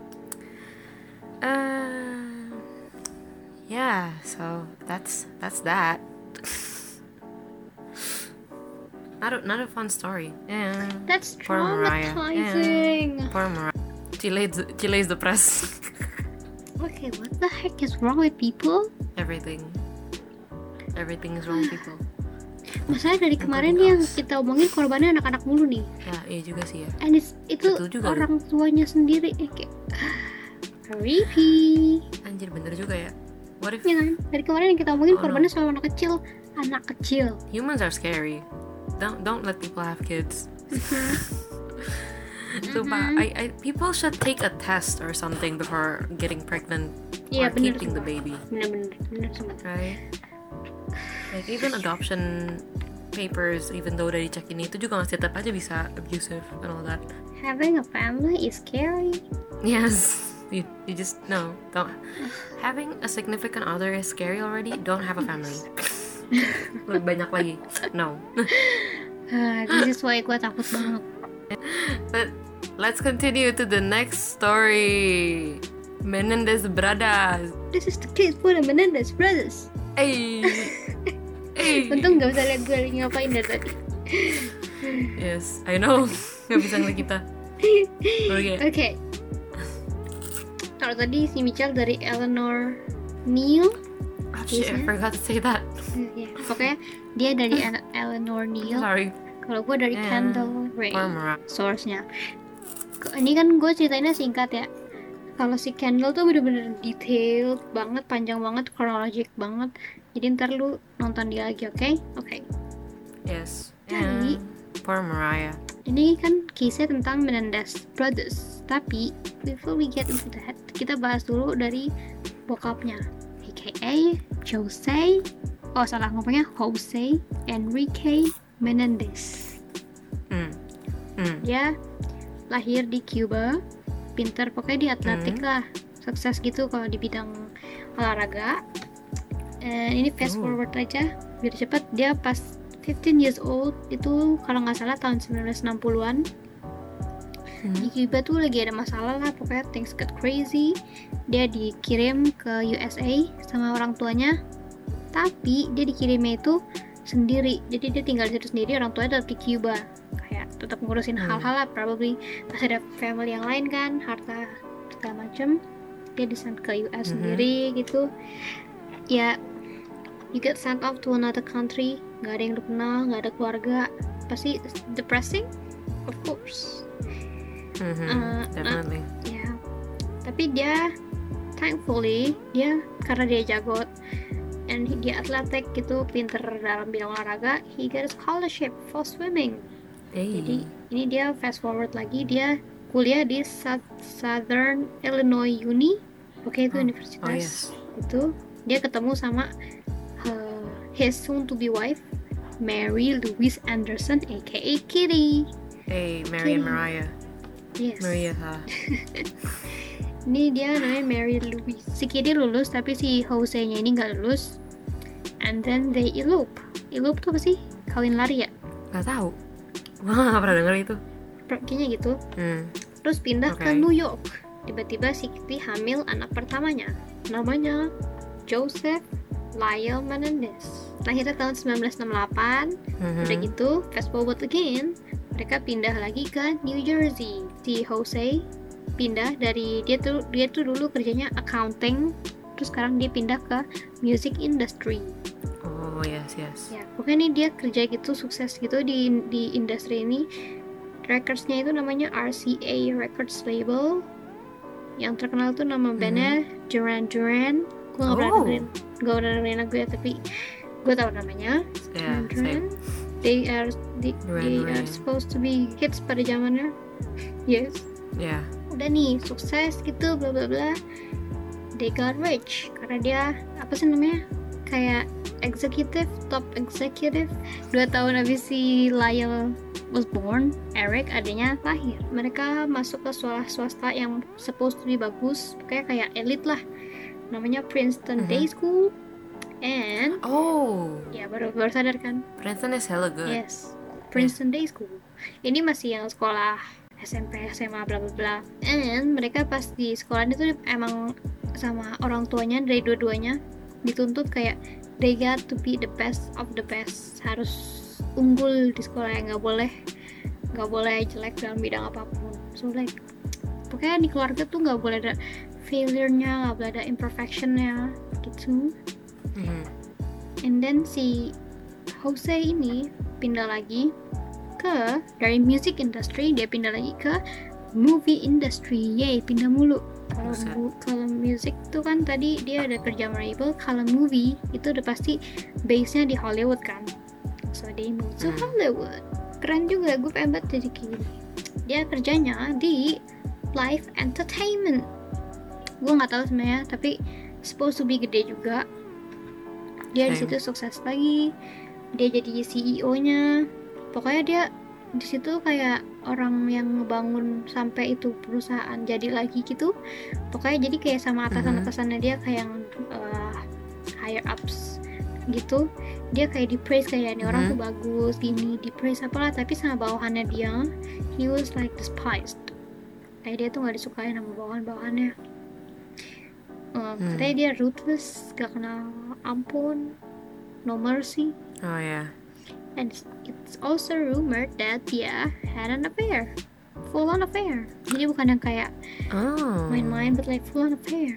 Yeah, so that's that. Not a fun story. Yeah. That's Poor Mariah. traumatizing. Yeah. Poor Mariah. She lays the press. Okay, what the heck is wrong with people? Everything is wrong with people. Masalahnya dari kemarin yang kita omongin korbannya anak-anak mulu nih. Ya, iya juga sih ya. And itu Betul juga, orang tuanya sendiri kayak creepy. Anjir, bener juga ya. What if Ya kan? Dari kemarin yang kita omongin Oh, korbannya selalu anak kecil. humans are scary? Don't let people have kids. Sumpah, people should take a test or something before getting pregnant Iya, or bener keeping the sumpah. baby, Bener sumpah. right? Like even adoption papers, even though udah dicekin itu juga masih tetap aja bisa abusive and all that. Having a family is scary. Yes, you just no, don't. Having a significant other is scary already. Don't have a family. Lebih banyak lagi. No. This is why gue takut banget. But let's continue to the next story. Menendez brothers. This is the case for the Menendez brothers. Hey. Hey. Untung gak bisa lihat gue ngapain dari tadi. Yes, I know. Gak bisa ngeliat kita. Okay. Okay. Kalau tadi si Michelle dari Eleanor Neal. Oh shit, I forgot to say that. Ya, pokoknya dia dari Eleanor Neal. Sorry. Kalau gue dari Yeah. Kendall Ray Poor Mariah. source-nya. Ini kan gue ceritainnya singkat ya. Kalau si Kendall tuh bener-bener detailed banget, panjang banget, chronologic banget. Jadi ntar lu nonton dia lagi, oke? Oke. Yes. Jadi- Yeah. Poor Mariah. Ini kan kisah tentang Menendez Brothers. Tapi before we get into that, kita bahas dulu dari bokapnya, aka Jose. Oh salah ngomongnya, Jose Enrique Menendez. Dia lahir di Cuba, pinter pokoknya di atletik lah, sukses gitu kalau di bidang olahraga. Ini fast forward aja biar cepet. Dia pas 15 years old itu kalau nggak salah tahun 1960-an. Di Cuba tuh lagi ada masalah lah, pokoknya things get crazy. Dia dikirim ke USA sama orang tuanya, tapi dia dikirimnya itu sendiri. Jadi dia tinggal di situ sendiri, orang tuanya tetap di Cuba, kayak tetap ngurusin hal-hal lah, probably masih ada family yang lain kan, harta segala macem. Dia disend ke US sendiri gitu. Ya, you get sent off to another country, nggak ada yang lu kenal, nggak ada keluarga, pasti depressing, of course. Definitely. Ya, tapi dia thankfully dia karena dia jago and dia atletik gitu, pinter dalam bidang olahraga, he got a scholarship for swimming. Hey. Jadi ini dia fast forward lagi, dia kuliah di Southern Illinois Uni, oke itu universitas. Itu dia ketemu sama his soon to be wife, Mary Louise Anderson, aka Kitty. Hey, Mary and Mariah. Yes. Maria ha. Ini dia namanya Mary Louise. Si Kitty lulus tapi si Jose-nya ini nggak lulus. And then they elope. Elope tuh apa sih? Kawin lari ya? Gak tahu. Wah, gak pernah denger itu. Kayaknya gitu. terus pindah ke Okay. New York. Tiba-tiba si Kitty hamil anak pertamanya, namanya Joseph Lyle Menendez. Lahirnya tahun 1968. Udah gitu, fast forward again, mereka pindah lagi ke New Jersey. Si Jose pindah dari dia tuh dulu kerjanya accounting, terus sekarang dia pindah ke music industry. Oh yes. Ya, pokoknya nih dia kerja gitu, sukses gitu di industri ini. Recordsnya itu namanya RCA Records label. Yang terkenal tuh nama bandnya Duran Duran. Gue gak pernah dengerin lagu ya, tapi gue tahu namanya. Yeah, Duran. They are supposed to be hits pada zamannya. Yes. Yeah. Udah nih sukses gitu, bla bla bla. They got rich karena dia apa sih namanya, kayak top executive. 2 tahun habis si Lyle was born, Eric adanya lahir. Mereka masuk ke sekolah swasta yang supposed to be bagus, kayak elit lah, namanya Princeton Day School. And ya baru sadar kan, Princeton is hella good. yes, Princeton Day School ini masih yang sekolah SMP, SMA, bla bla bla. And mereka pas di sekolah itu emang sama orang tuanya dari dua-duanya dituntut kayak they got to be the best of the best, harus unggul di sekolah, yang nggak boleh jelek dalam bidang apapun. So like pokoknya di keluarga tuh nggak boleh ada failure-nya, nggak boleh ada imperfection-nya gitu. And then si Jose ini pindah lagi dari music industry, dia pindah lagi ke movie industry. Yay, pindah mulu. Kalau music tuh kan tadi dia ada kerja label, kalau movie itu udah pasti base-nya di Hollywood kan. So they moved to Hollywood. Keren juga, gue pengen banget jadi gini. Dia kerjanya di live entertainment. Gue nggak tahu sebenarnya, tapi supposed to be gede juga. Dia di situ sukses lagi. Dia jadi CEO-nya. Pokoknya dia di situ kayak orang yang ngebangun sampai itu perusahaan jadi lagi gitu. Pokoknya jadi kayak sama atasan-atasannya dia kayak yang higher ups gitu. Dia kayak di praise kayak ini orang tuh bagus gini, di praise apalah, tapi sama bawahannya dia he was like despised. Kayak dia tuh nggak disukain sama bawahannya. Katanya dia ruthless, gak kenal ampun, no mercy. Oh yeah. And it's also rumored that dia had an affair, full on affair. Jadi bukan yang kayak main-main, but like full on affair.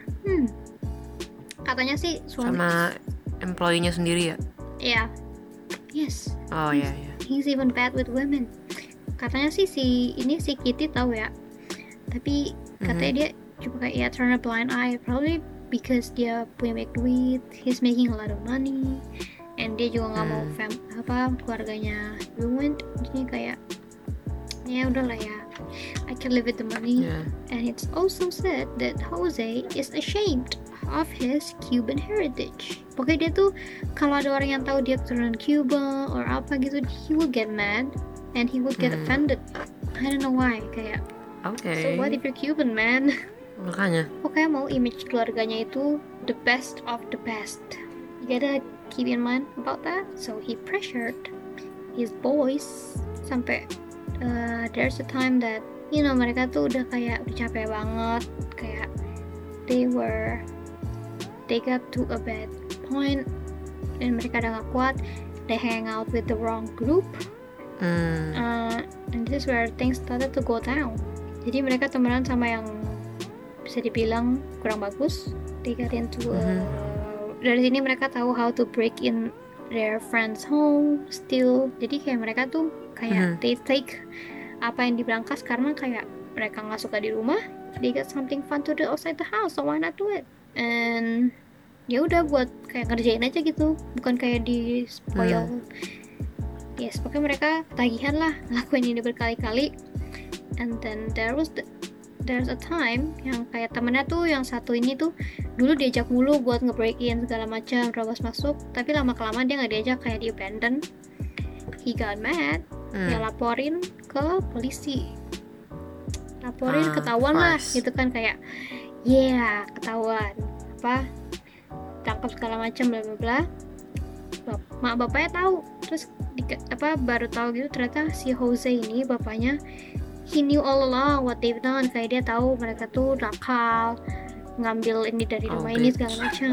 Katanya sih suami Sama employee-nya sendiri ya? Yeah. Yes. Oh yeah. He's even bad with women. Katanya sih si Kitty tahu ya. Tapi katanya dia cuma kayak turn a blind eye, probably because dia punya banyak duit, he's making a lot of money, and dia juga nggak mau keluarganya ruined. Jadi kayak ya udahlah ya, I can live with the money. And it's also said that Jose is ashamed of his Cuban heritage. Pokoknya dia tuh kalau ada orang yang tahu dia keturunan Cuba or apa gitu, he will get mad and he will get offended. I don't know why, kayak so what if you're Cuban, man? Makanya Pokoknya mau image keluarganya itu the best of the best. You gotta keep in mind about that. So he pressured his boys sampai there's a time that mereka tuh udah capek banget, kayak they got to a bad point dan mereka udah gak kuat. They hang out with the wrong group, and this is where things started to go down. Jadi mereka temenan sama yang bisa dibilang kurang bagus. They got into dari sini mereka tahu how to break in their friends home, steal. Jadi kayak mereka tuh kayak they take apa yang diberangkas karena kayak mereka nggak suka di rumah. They got something fun to do outside the house, so why not do it? And ya udah buat kayak ngerjain aja gitu, bukan kayak di spoil. Yes, pokoknya mereka tagihan lah ngelakuin ini berkali-kali. And then there's a time yang kayak temennya tuh yang satu ini tuh dulu diajak mulu buat nge-break in segala macam, terobos masuk, tapi lama-kelamaan dia nggak diajak, kayak di abandon. He got mad, dia laporin ke polisi, ketahuan lah gitu kan, kayak ketahuan tangkap segala macam bla bla bla. Mak bapaknya tahu, terus baru tahu gitu ternyata si Jose ini bapaknya he knew all along what they've done. Kayak dia tahu mereka tuh nakal, ngambil ini dari rumah ini segala macam.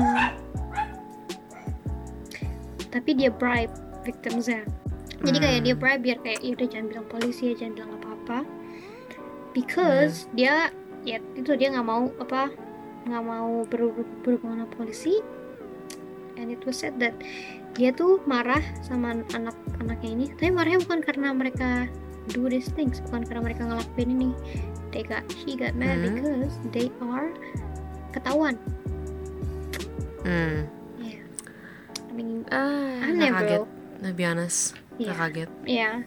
Tapi dia bribe victimsnya. Jadi kayak dia bribe biar kayak ya udah jangan bilang polisi, jangan bilang apa-apa. Because dia ya itu dia nggak mau berhubungan sama polisi. And it was said that dia tuh marah sama anak-anaknya ini, tapi marahnya bukan karena mereka do these things, bukan karena mereka ngelakuin ini. He got mad because they are ketahuan. Yeah. I mean, aneh bro. To be honest, gak kaget. Yeah.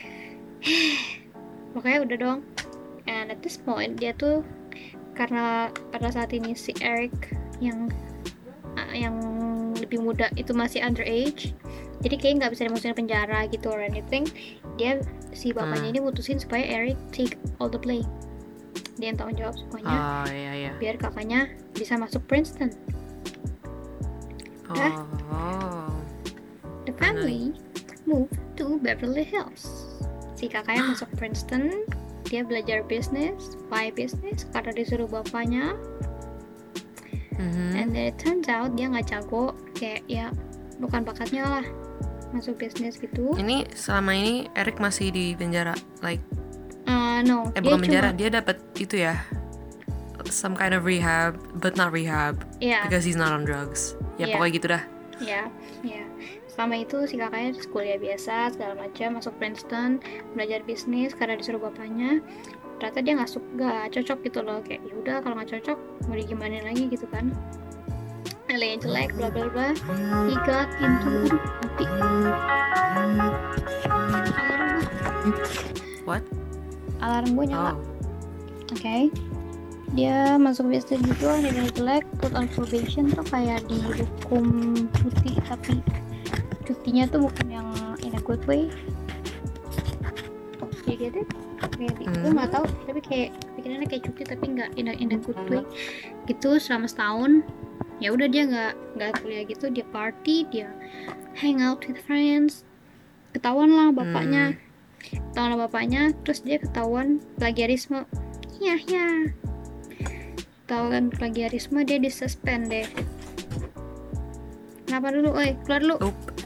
Makanya udah dong. And at this point dia tuh karena pada saat ini si Eric yang lebih muda itu masih underage, jadi kayak nggak bisa dimasukin penjara gitu or anything. Dia si bapaknya ini putusin supaya Eric take all the blame, dia yang tanggung jawab semuanya. Biar kakaknya bisa masuk Princeton. The family moved to Beverly Hills. Si kakaknya masuk Princeton, dia belajar bisnis, why bisnis? Karena disuruh bapaknya. And then it turns out dia nggak jago, kayak ya bukan bakatnya lah masuk bisnis gitu. Ini selama ini Eric masih di penjara, like no, bukan penjara, dia dapat itu ya, some kind of rehab, but not rehab, because he's not on drugs. Pokoknya gitu dah. Selama itu si kakaknya kuliah biasa segala macam, masuk Princeton, belajar bisnis karena disuruh bapaknya. Ternyata dia nggak cocok gitu loh, kayak yaudah kalau nggak cocok mau digimanain lagi gitu kan, nilainya jelek bla bla bla. He got into alarm gue nyala. Okay. Dia masuk bisnis gitu, nilainya jelek, put on probation tuh kayak dihukum cuti, tapi cutinya tuh bukan yang in a good way. You get it? Kayak gue nggak tahu, tapi kayak pikirannya kayak cuti tapi nggak in a good way gitu selama setahun. Ya udah dia nggak kuliah gitu, dia party, dia hang out with friends. Ketahuan lah bapaknya, terus dia ketahuan plagiarisme. Ketahuan plagiarisme, dia disuspend deh. Kenapa dulu? Keluar dulu.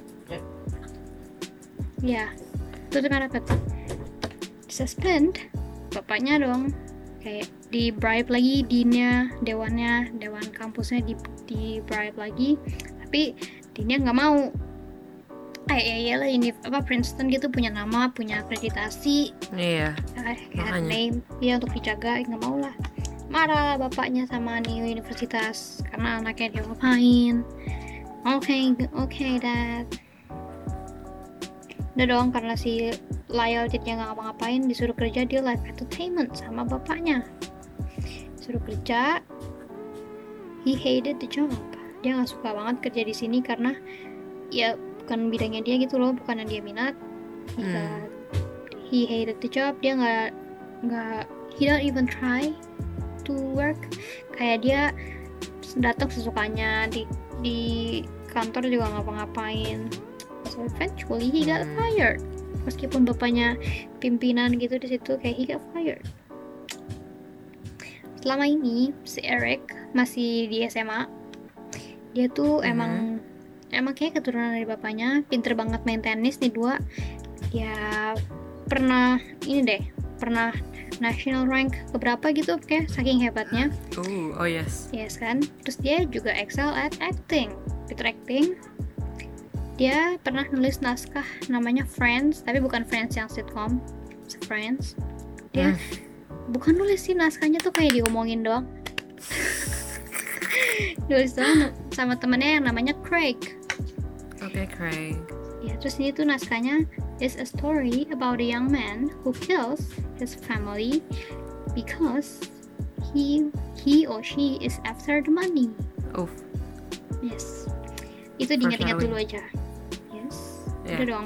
Ya, tutup rapat. Suspend bapaknya dong, kayak di bribe lagi dewan kampusnya di bribe lagi, tapi deannya nggak mau. Iyalah ini Princeton gitu punya nama, punya akreditasi, name dia untuk dijaga, nggak mau lah. Marah bapaknya sama nih universitas karena anaknya dia ngapain. Okay dad. Udah dong, karena si Lyle jadinya nggak ngapa-ngapain, disuruh kerja di live entertainment sama bapaknya. Suruh kerja, he hated the job. Dia nggak suka banget kerja di sini karena ya bukan bidangnya dia gitu loh, bukan yang dia minat. He hated the job. Dia nggak he don't even try to work. Kayak dia datang sesukanya di kantor juga ngapa-ngapain. So eventually he got fired. Meskipun bapaknya pimpinan gitu di situ, kayak he got fired. Selama ini si Eric masih di SMA. Dia tuh emang kayak keturunan dari bapaknya, pinter banget main tenis nih dua. Dia pernah national rank keberapa gitu, kayak saking hebatnya. Yes kan. Terus dia juga excel at acting, pinter acting. Dia pernah nulis naskah namanya Friends, tapi bukan Friends yang sitcom, Friends. Dia bukan nulis sih, naskahnya tuh kayak diomongin doang. Nulis doang sama temennya yang namanya Craig. Craig. Ya, terus ini tuh naskahnya is a story about a young man who kills his family because he or she is after the money. Yes. Itu diingat-ingat dulu aja. Udah dong,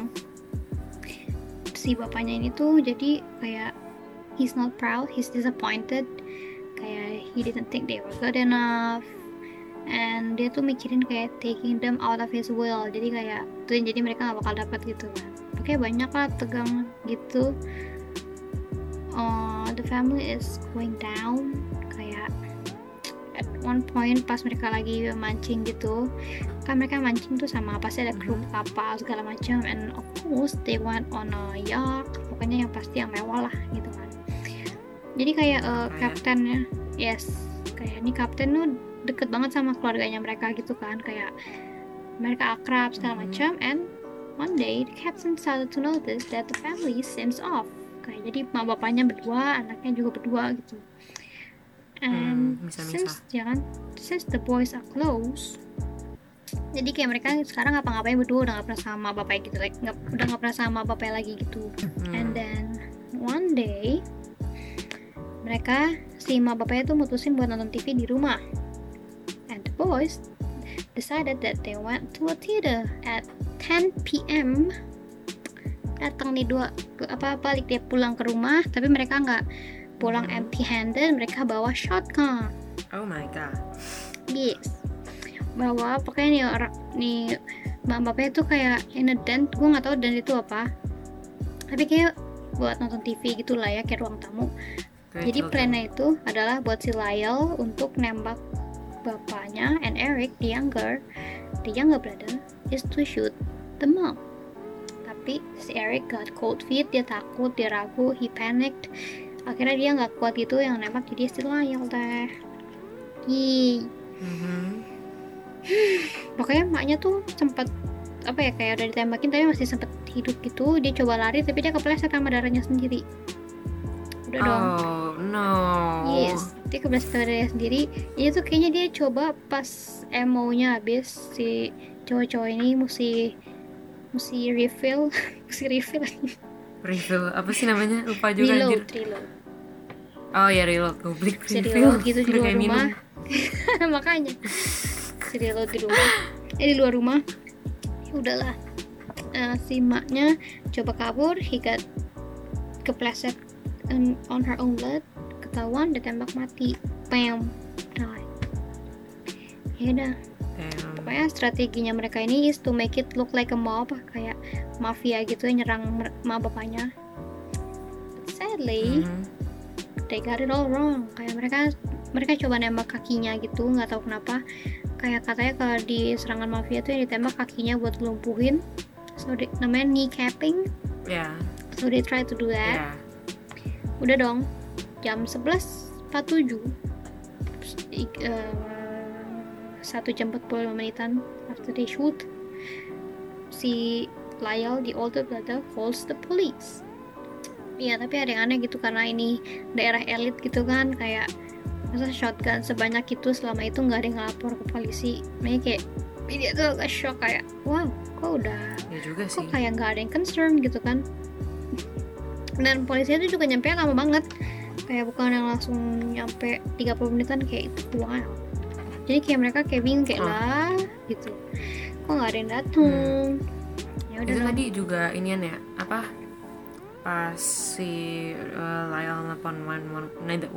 si bapaknya ini tuh jadi kayak he's not proud, he's disappointed, kayak he didn't think they were good enough, and dia tuh mikirin kayak taking them out of his will, jadi kayak tuh jadi mereka nggak bakal dapat gitu kan. Oke, banyak lah tegang gitu. the family is going down. Kayak at one point pas mereka lagi mancing gitu, kan mereka mancing tuh sama pasti ada kru kapal segala macam, and of course they went on a yacht, pokoknya yang pasti yang mewah lah gitu kan. Jadi kayak kaptennya, yes, kayak ini kapten tuh deket banget sama keluarganya mereka gitu kan, kayak mereka akrab segala macam. And one day the captain started to notice that the family seems off. Kayak jadi mak bapaknya berdua, anaknya juga berdua gitu. And since the boys are close, jadi kayak mereka sekarang ngapa-ngapain berdua, udah gak pernah sama bapaknya gitu, like udah gak pernah sama bapaknya lagi gitu. And then one day mereka si mak bapaknya tuh mutusin buat nonton TV di rumah, and the boys decided that they went to a theater at 10 p.m. Datang nih balik dia pulang ke rumah, tapi mereka nggak pulang empty-handed, mereka bawa shotgun. Oh my god. Yes, bawa pokoknya nih mbak bapaknya tuh kayak in a tent, gue nggak tahu dent itu apa, tapi kayak buat nonton TV gitulah ya, kayak ruang tamu. Jadi plannya itu adalah buat si Lyle untuk nembak bapaknya, and Eric the younger brother is to shoot the mom. Tapi si Eric got cold feet, dia takut, dia ragu, he panicked. Akhirnya dia nggak kuat gitu yang nembak, jadi si Lyle deh. Pokoknya maknya tuh sempet kayak udah ditembakin tapi masih sempet hidup gitu. Dia coba lari tapi dia kepleset sama darahnya sendiri. Udah dong. Oh no. Yes, dia kepleset sama darahnya sendiri. Ini tuh kayaknya dia coba pas ammo-nya habis, si cowok-cowok ini mesti refill. Refill apa sih namanya? Lupa juga. Reload. Oh ya, reload. Public refill gitu di luar rumah. Makanya reload di luar rumah. Ya udahlah. Si maknya coba kabur, he got kepleset on her own blood, ketahuan, ditembak mati. Bam. Ya udah. Pokoknya strateginya mereka ini is to make it look like a mob, kayak mafia gitu yang nyerang mak bapaknya. But sadly, they got it all wrong. Kayak mereka coba nembak kakinya gitu, nggak tahu kenapa. Kayak katanya kalau di serangan mafia tuh yang ditembak kakinya buat lumpuhin, so namanya kneecapping. Yeah. So they try to do that. Yeah. Udah dong, jam 11.47, 1 jam 45 menitan after they shoot, si Lyle, the older brother, calls the police. Iya, tapi ada yang aneh gitu karena ini daerah elit gitu kan, kayak masa shotgun sebanyak itu selama itu nggak ada yang ngelapor ke polisi. Makanya kayak dia tuh agak shock, kayak wow, kok kayak nggak ada yang concern gitu kan. Dan polisinya tuh juga nyampe lama banget, kayak bukan yang langsung nyampe 30 menitan kayak itu. Wow. Jadi kayak mereka kayak bingung kayak lah gitu, kok nggak ada yang datang. Ya udah. Tadi juga inian ya, apa pas si Lyle nelfon 111,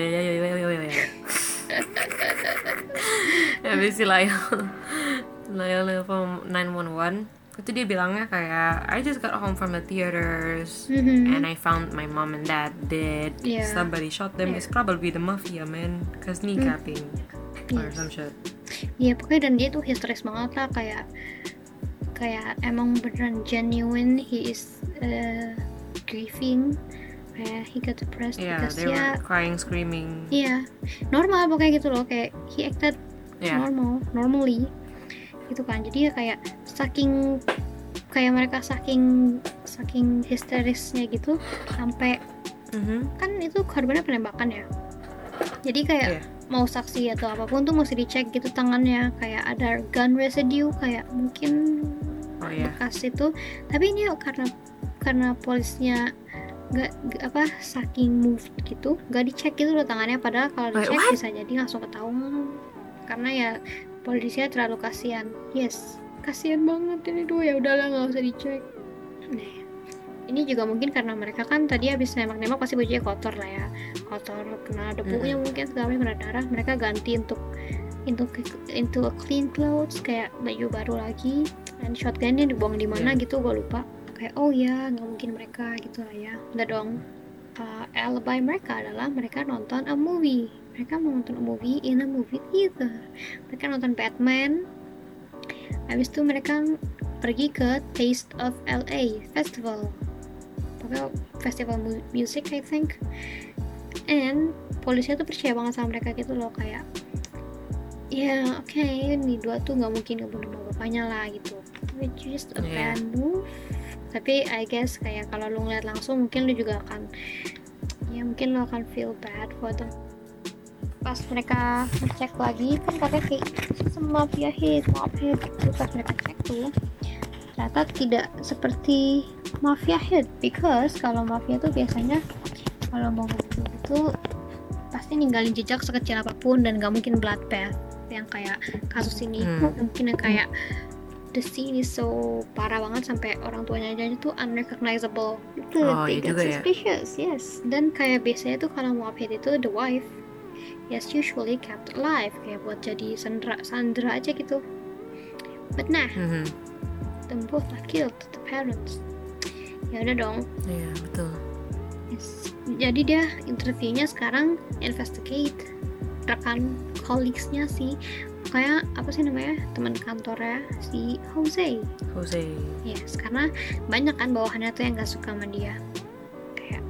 habis si Lyle nelfon 911, itu dia bilangnya kayak I just got home from the theaters and I found my mom and dad dead. Somebody shot them. It's probably the mafia, man, cause kneecapping. Or some shit. Iya, pokoknya dan dia tuh histeris banget lah, kayak emang beneran genuine, he is grieving, kayak he got depressed because they were crying, screaming. Iya, normal pokoknya gitu loh, kayak he acted normally gitu kan. Jadi ya kayak mereka saking histerisnya gitu sampai kan itu korbannya penembakan ya. Jadi kayak mau saksi atau apapun tuh mesti dicek gitu tangannya, kayak ada gun residue, kayak mungkin bekas itu. Tapi ini karena polisnya nggak saking moved gitu, nggak dicek gitu loh tangannya, padahal kalau dicek bisa jadi langsung ketahuan karena ya polisnya terlalu kasihan. Yes, kasihan banget ini tuh. Ya udahlah, nggak usah dicek. Nah, ini juga mungkin karena mereka kan tadi habis nembak pasti bajunya kotor lah ya, kotor kena debunya mungkin segala macam, kena darah. Mereka ganti into a clean clothes, kayak baju baru lagi, dan shotgunnya dibuang di mana gitu gue lupa. Kayak oh ya nggak mungkin mereka gitu lah ya. Udah dong, alibi mereka adalah mereka nonton a movie. Mereka mau nonton a movie in a movie theater. Mereka nonton Batman. Habis itu mereka pergi ke Taste of LA Festival. Pokoknya festival music I think. And polisi tuh percaya banget sama mereka gitu loh, kayak ya oke, ini dua tuh nggak mungkin ngebunuh bapaknya lah gitu, which is a bad move. Tapi I guess kayak kalau lu ngeliat langsung mungkin lu juga akan, ya mungkin lu akan feel bad for them. Pas mereka ngecek lagi kan katanya kayak mafia hit gitu, pas mereka cek tuh ternyata tidak seperti mafia hit, because kalau mafia tuh biasanya kalau mau ngebunuh itu pasti ninggalin jejak sekecil apapun dan gak mungkin bloodbath yang kayak kasus ini. Mungkin yang kayak the scene is so parah banget sampai orang tuanya aja tuh unrecognizable itu. They get suspicious ya? Yes. Dan kayak biasanya tuh kalau mau hit itu the wife yes usually kept alive, kayak buat jadi sandra aja gitu. But nah them both are killed, the parents. Ya udah dong. Iya betul. Yes. Jadi dia interviewnya sekarang investigate rekan colleagues-nya sih, kayak apa sih namanya, teman kantornya si Jose. Yes, karena banyak kan bawahannya tuh yang gak suka sama dia, kayak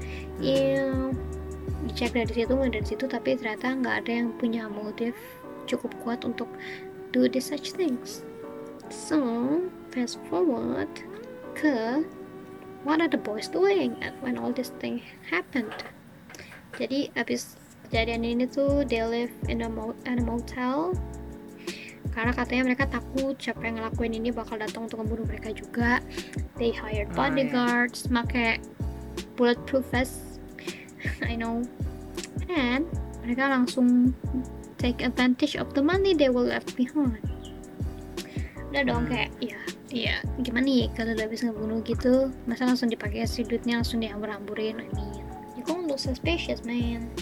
dicek dari situ tapi ternyata nggak ada yang punya motif cukup kuat untuk do this such things. So fast forward ke what are the boys doing when all this thing happened. Jadi abis kejadian ini tuh they live in a motel karena katanya mereka takut siapa yang ngelakuin ini bakal datang untuk membunuh mereka juga. They hired bodyguards, pakai bulletproof vest, I know, and mereka langsung take advantage of the money they were left behind. Udah dong, kayak ya gimana nih kalau udah habis ngebunuh gitu, masa langsung dipakai si duitnya langsung dihambur-hamburin. I mean, you can't look suspicious, man.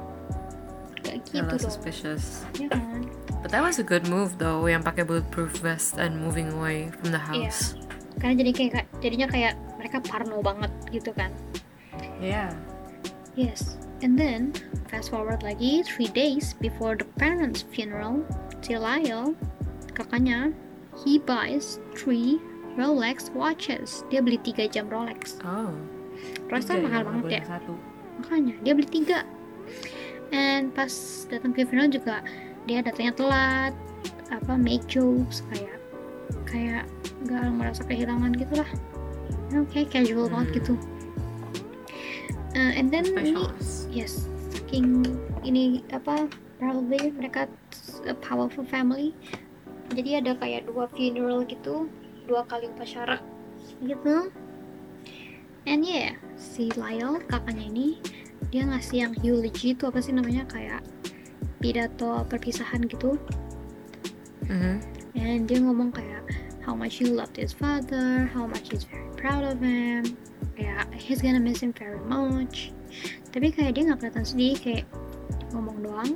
Kayak gitu dong. Suspicious. Ya kan? But that was a good move though, yang pakai bulletproof vest and moving away from the house. Karena jadinya kayak mereka parno banget gitu kan. Yeah. Yes. And then fast forward lagi 3 days before the parents' funeral, si Lyle, kakaknya, he buys 3 Rolex watches. Dia beli 3 jam Rolex. Rolex kan mahal banget ya. Makanya dia beli 3. And pas datang ke funeral juga dia datangnya telat, make jokes, kayak nggak merasa kehilangan gitu lah. Kayak casual banget gitu. And then saking ini probably mereka a powerful family. Jadi ada kayak 2 funeral gitu, 2 kali upacara gitu. And si Lyle kakaknya ini dia ngasih yang eulogy itu apa sih namanya, kayak pidato perpisahan gitu. And dia ngomong kayak how much he loved his father, how much he's very proud of him, kayak he's gonna miss him very much. Tapi kayak dia nggak kelihatan sedih, kayak ngomong doang.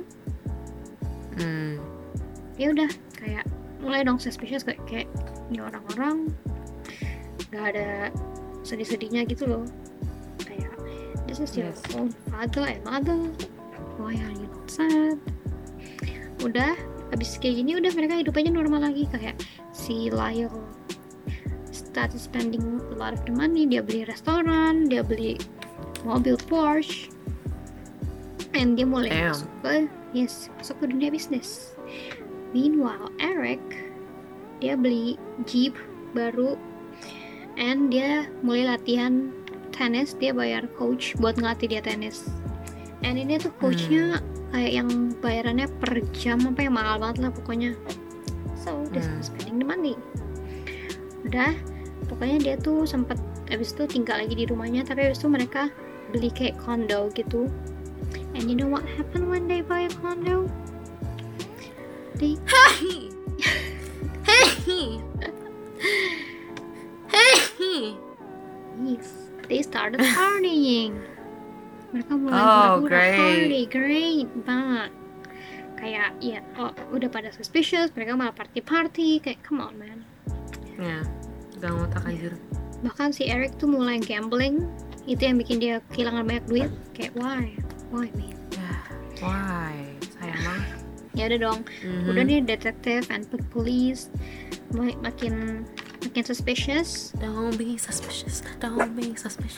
Ya udah, kayak mulai dong suspicious, kayak ini orang-orang nggak ada sedih-sedihnya gitu loh. Kayak this is your own father and mother, why are you not sad? Udah abis kayak gini, udah mereka hidup aja normal lagi. Kayak si Lyle started spending a lot of the money. Dia beli restoran, dia beli mobil Porsche, and dia mulai masuk ke dunia bisnis. Meanwhile Eric, dia beli Jeep baru, and dia mulai latihan tenis. Dia bayar coach buat ngelatih dia tenis. And ini tuh coachnya kayak yang bayarannya per jam, apa yang mahal banget lah pokoknya. So dia spending the money. Udah, pokoknya dia tuh sempat abis itu tinggal lagi di rumahnya, tapi abis itu mereka beli kayak condo gitu. And you know what happened when they buy a condo? They started partying. Mereka mulai great banget. Kayak udah pada suspicious, mereka malah party, kayak come on man. Gak ngotak anjir. Bahkan si Eric tuh mulai gambling itu yang bikin dia kehilangan banyak duit. Kayak why man. Why? Sayang banget. Ya udah dong, udah nih detektif and police makin suspicious. Don't be suspicious. Don't be.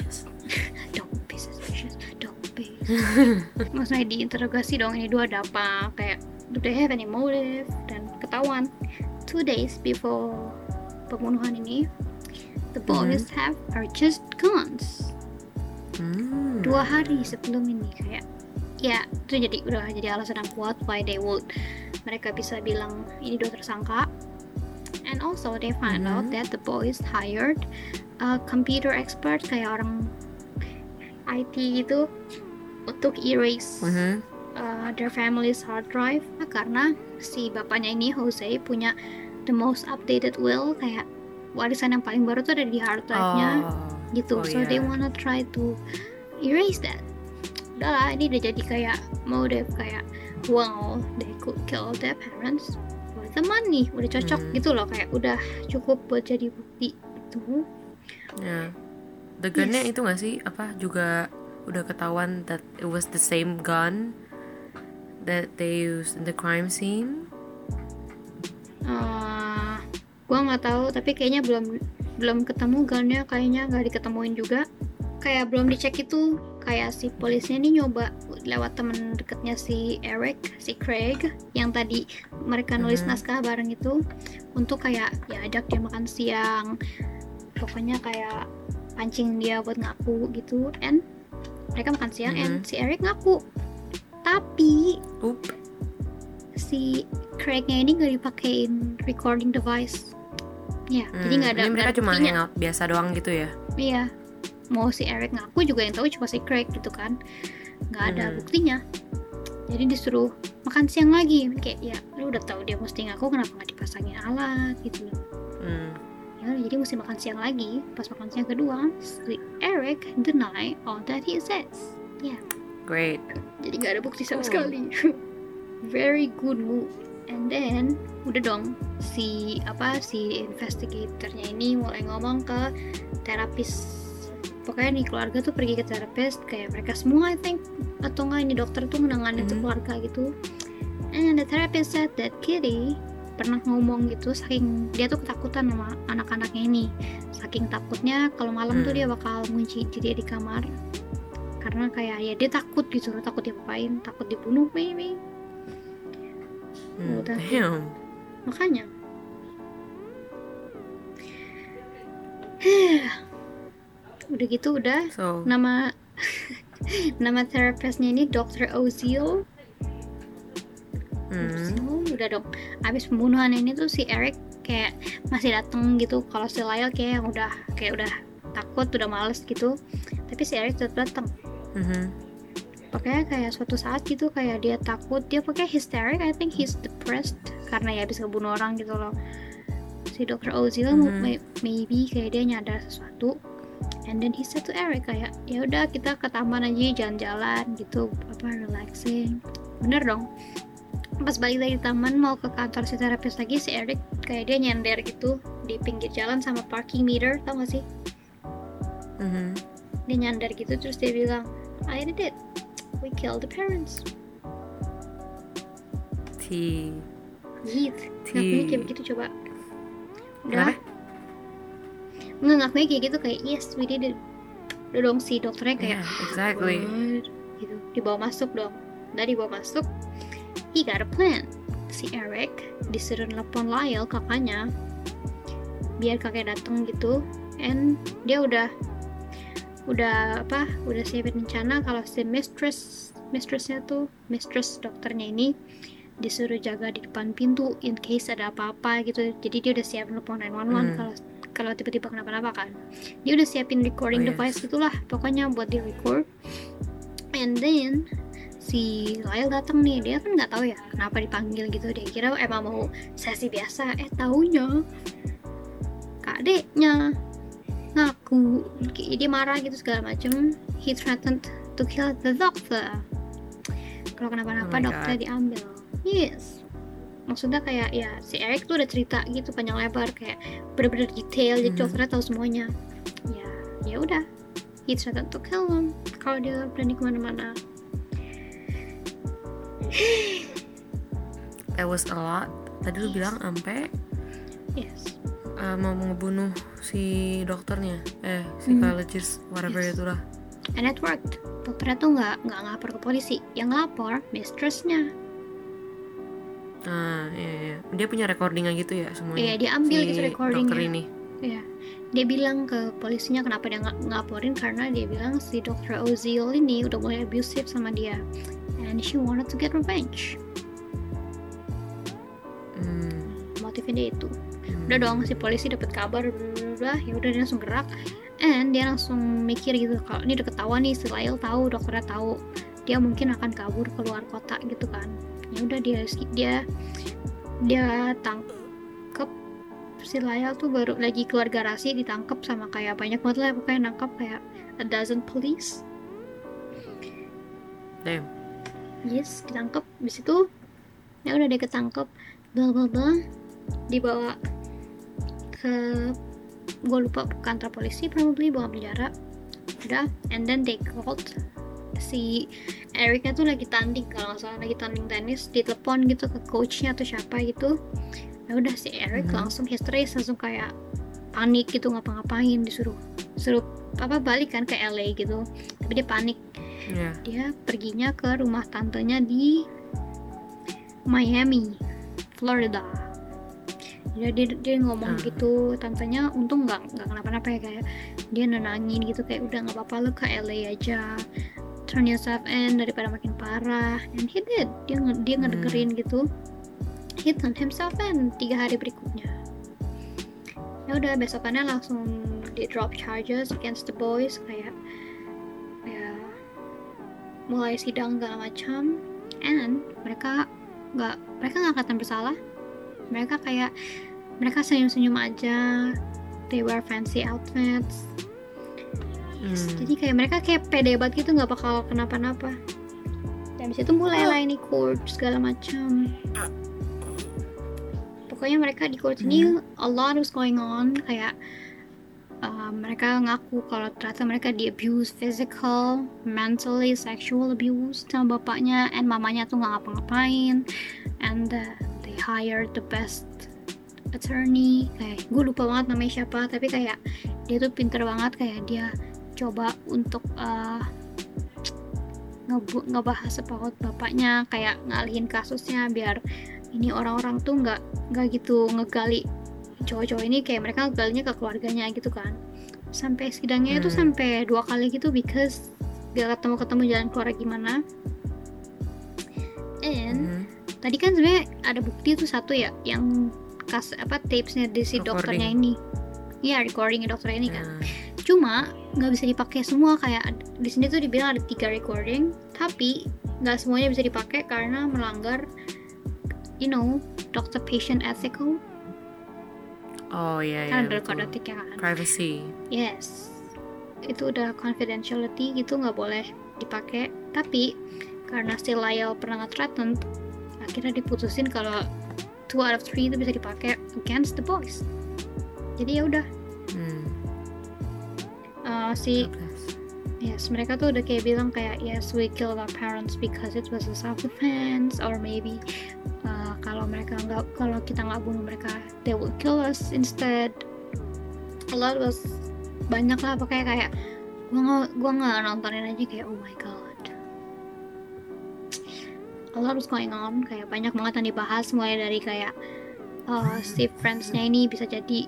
Maksudnya diinterogasi dong, ini dua ada apa, kayak do they have any motive, dan ketahuan 2 days before pembunuhan ini the boys are just guns. 2 hari sebelum ini, kayak ya itu udah jadi alasan yang kuat why mereka bisa bilang ini dua tersangka. And also they find out that the boys hired a computer expert, kayak orang IT gitu, untuk erase their family's hard drive, karena si bapaknya ini Jose punya the most updated will, kayak warisan yang paling baru tuh ada di hard drive-nya gitu. So they wanna try to erase that. Udahlah, ini udah jadi kayak motive, kayak wow, they could kill their parents for the money. Udah cocok gitu loh, kayak udah cukup buat jadi bukti itu. The gunnya itu nggak sih, apa juga udah ketahuan that it was the same gun that they used in the crime scene? Gua nggak tahu, tapi kayaknya belum ketemu gunnya, kayaknya nggak diketemuin juga. Kayak belum dicek itu, kayak si polisnya ini nyoba lewat temen deketnya si Eric, si Craig, yang tadi mereka nulis naskah bareng itu, untuk kayak ya ajak dia makan siang, pokoknya kayak pancing dia buat ngaku gitu. And mereka makan siang, and si Eric ngaku, tapi si Craig-nya ini nggak dipakein recording device. Ya, jadi nggak ada. Ini mereka cuma hangout biasa doang gitu ya? Iya, mau si Eric ngaku juga yang tahu cuma si Craig gitu kan, nggak ada buktinya. Jadi disuruh makan siang lagi, kayak ya lu udah tahu dia mesti ngaku, kenapa nggak dipasangin alat gitu loh. Ya jadi mesti makan siang lagi. Pas makan siang kedua, si Eric deny all that he says. Yeah. Great. Jadi nggak ada bukti sama sekali. Very good move. And then udah dong, si investigatornya ini mulai ngomong ke terapis. Pokoknya nih keluarga tuh pergi ke terapis, kayak mereka semua I think, atau enggak ini dokter tuh menangani tuh keluarga gitu. And the therapist said that Kitty pernah ngomong gitu, saking dia tuh ketakutan sama anak-anaknya ini, saking takutnya kalau malam tuh dia bakal ngunci diri di kamar, karena kayak ya dia takut gitu, takut diapain, takut dibunuh maybe. Udah. Damn. Makanya udah gitu nama terapisnya ini Dr. Oziel. Udah dong, abis pembunuhan ini tuh si Eric kayak masih dateng gitu. Kalau si Lyle kayak udah takut, udah males gitu, tapi si Eric tetap datang. Pokoknya kayak suatu saat gitu, kayak dia takut, dia pakai hysteric, I think he's depressed karena ya habis ngebunuh orang gitu loh. Si Dr. Oziel maybe kayak dia nyadar sesuatu, and then he said to Eric kayak ya udah kita ke taman aja jalan-jalan gitu, relaxing. Bener dong. Pas balik dari taman mau ke kantor si terapis lagi, si Eric kayak dia nyender gitu di pinggir jalan sama parking meter, tau gak sih? Dia nyender gitu, terus dia bilang, I did it, we killed the parents. Ngakunya kayak begitu, coba. Udah ngakunya kayak gitu, kayak yes we did it. Udah dong, si dokternya kayak exactly gitu, dibawa masuk dong. Udah dibawa masuk, he got a plan. Si Eric disuruh nelpon Lyle, kakaknya, biar kakek datang gitu. And dia udah siapin rencana kalau si mistress dokternya ini disuruh jaga di depan pintu in case ada apa-apa gitu. Jadi dia udah siap nelpon 911 kalau tiba-tiba kenapa-napa kan. Dia udah siapin recording device gitulah, pokoknya buat di record. And then si Lyle datang nih, dia kan nggak tahu ya kenapa dipanggil gitu, dia kira emang mau sesi biasa, taunya kakeknya ngaku, dia marah gitu segala macem. He threatened to kill the doctor kalau kenapa-napa. Dokter diambil. Yes, maksudnya kayak ya si Eric tuh udah cerita gitu panjang lebar, kayak bener-bener detail, jadi dokternya tahu semuanya. Ya udah, he threatened to kill him kalau dia berani kemana-mana. That was a lot. Tadi lu bilang sampai Yes. Mau ngebunuh si dokternya, psychologist, whatever Yes. itulah. And it worked. Dokternya tuh nggak ngelapor ke polisi, yang ngelapor mistressnya. Iya. Dia punya recordingnya gitu ya semuanya. Iya, dia ambil si gitu recordingnya. dokter ini. Iya, dia bilang ke polisinya kenapa dia ngelaporin, karena dia bilang si Dr. Ozil ini udah mulai abusive sama dia, and she wanted to get revenge. Motifnya dia itu. Udah dong, si polisi dapat kabar, ya udah dia langsung gerak, and dia langsung mikir gitu, kalau ini udah ketahuan nih, si Lyle tahu, dokternya tahu, dia mungkin akan kabur ke luar kota gitu kan. Ya udah dia tangkep si Lyle tuh, baru lagi keluar garasi ditangkep sama kayak banyak banget lah, pokoknya nangkep kayak a dozen police. Damn. Yes, ditangkep. Habis itu ya udah dia ketangkep, bla bla bla, dibawa ke, gue lupa, kantor polisi probably, bawa penjara. Udah, and then they called si Ericnya tuh lagi tanding, kalau nggak salah lagi tanding tenis, ditelepon gitu ke coachnya atau siapa gitu. Ya udah, si Eric langsung histeris, langsung kayak panik gitu, ngapa-ngapain, disuruh balik kan ke LA gitu, tapi dia panik. Dia perginya ke rumah tantenya di Miami, Florida. Dia ngomong gitu, tantenya untung nggak kenapa-napa ya, kayak dia nenangin gitu, kayak udah nggak apa-apa, lo ke LA aja, turn yourself in daripada makin parah. And he did, dia ngedengerin gitu. He turned himself in 3 hari berikutnya. Ya udah, besokannya langsung di drop charges against the boys, kayak ya mulai sidang segala macam. And mereka nggak kelihatan bersalah. Mereka senyum-senyum aja. They wear fancy outfits. Jadi kayak mereka kayak pede banget gitu, nggak bakal kenapa-napa. Dan disitu mulailah ini court segala macam. Pokoknya mereka di court ini a lot was going on, kayak mereka ngaku kalau ternyata mereka di abuse, physical, mentally, sexual abuse sama bapaknya, and mamanya tuh nggak ngapa-ngapain, and they hired the best attorney, kayak gue lupa banget namanya siapa, tapi kayak dia tuh pinter banget, kayak dia coba untuk ngebahas about bapaknya, kayak ngalihin kasusnya biar ini orang-orang tuh nggak gitu ngegali cowok-cowok ini, kayak mereka ngegalinya ke keluarganya gitu kan. Sampai sidangnya itu sampai 2 kali gitu, because gak ketemu jalan keluar gimana. And tadi kan sebenarnya ada bukti tuh satu ya, yang tapesnya di si dokternya ini. Iya, recordingnya dokternya ini kan. Cuma nggak bisa dipakai semua, kayak di sini tuh dibilang ada 3 recording, tapi nggak semuanya bisa dipakai karena melanggar, doctor patient ethical. Oh iya, kan iya, ada kode etiknya kan. Privacy. Yes, itu udah confidentiality gitu, nggak boleh dipakai. Tapi karena si Lyle pernah nge-threaten, akhirnya diputusin kalau 2 out of 3 itu bisa dipakai against the boys. Jadi ya udah. Yes, mereka tuh udah kayak bilang kayak, yes, we killed our parents because it was a self-defense, or maybe kalau kita nggak bunuh mereka, they will kill us instead. A lot was banyak lah, pokoknya kayak gue nggak nontonin aja, kayak oh my god, a lot was going on, kayak banyak banget yang dibahas, mulai dari kayak si friends-nya ini bisa jadi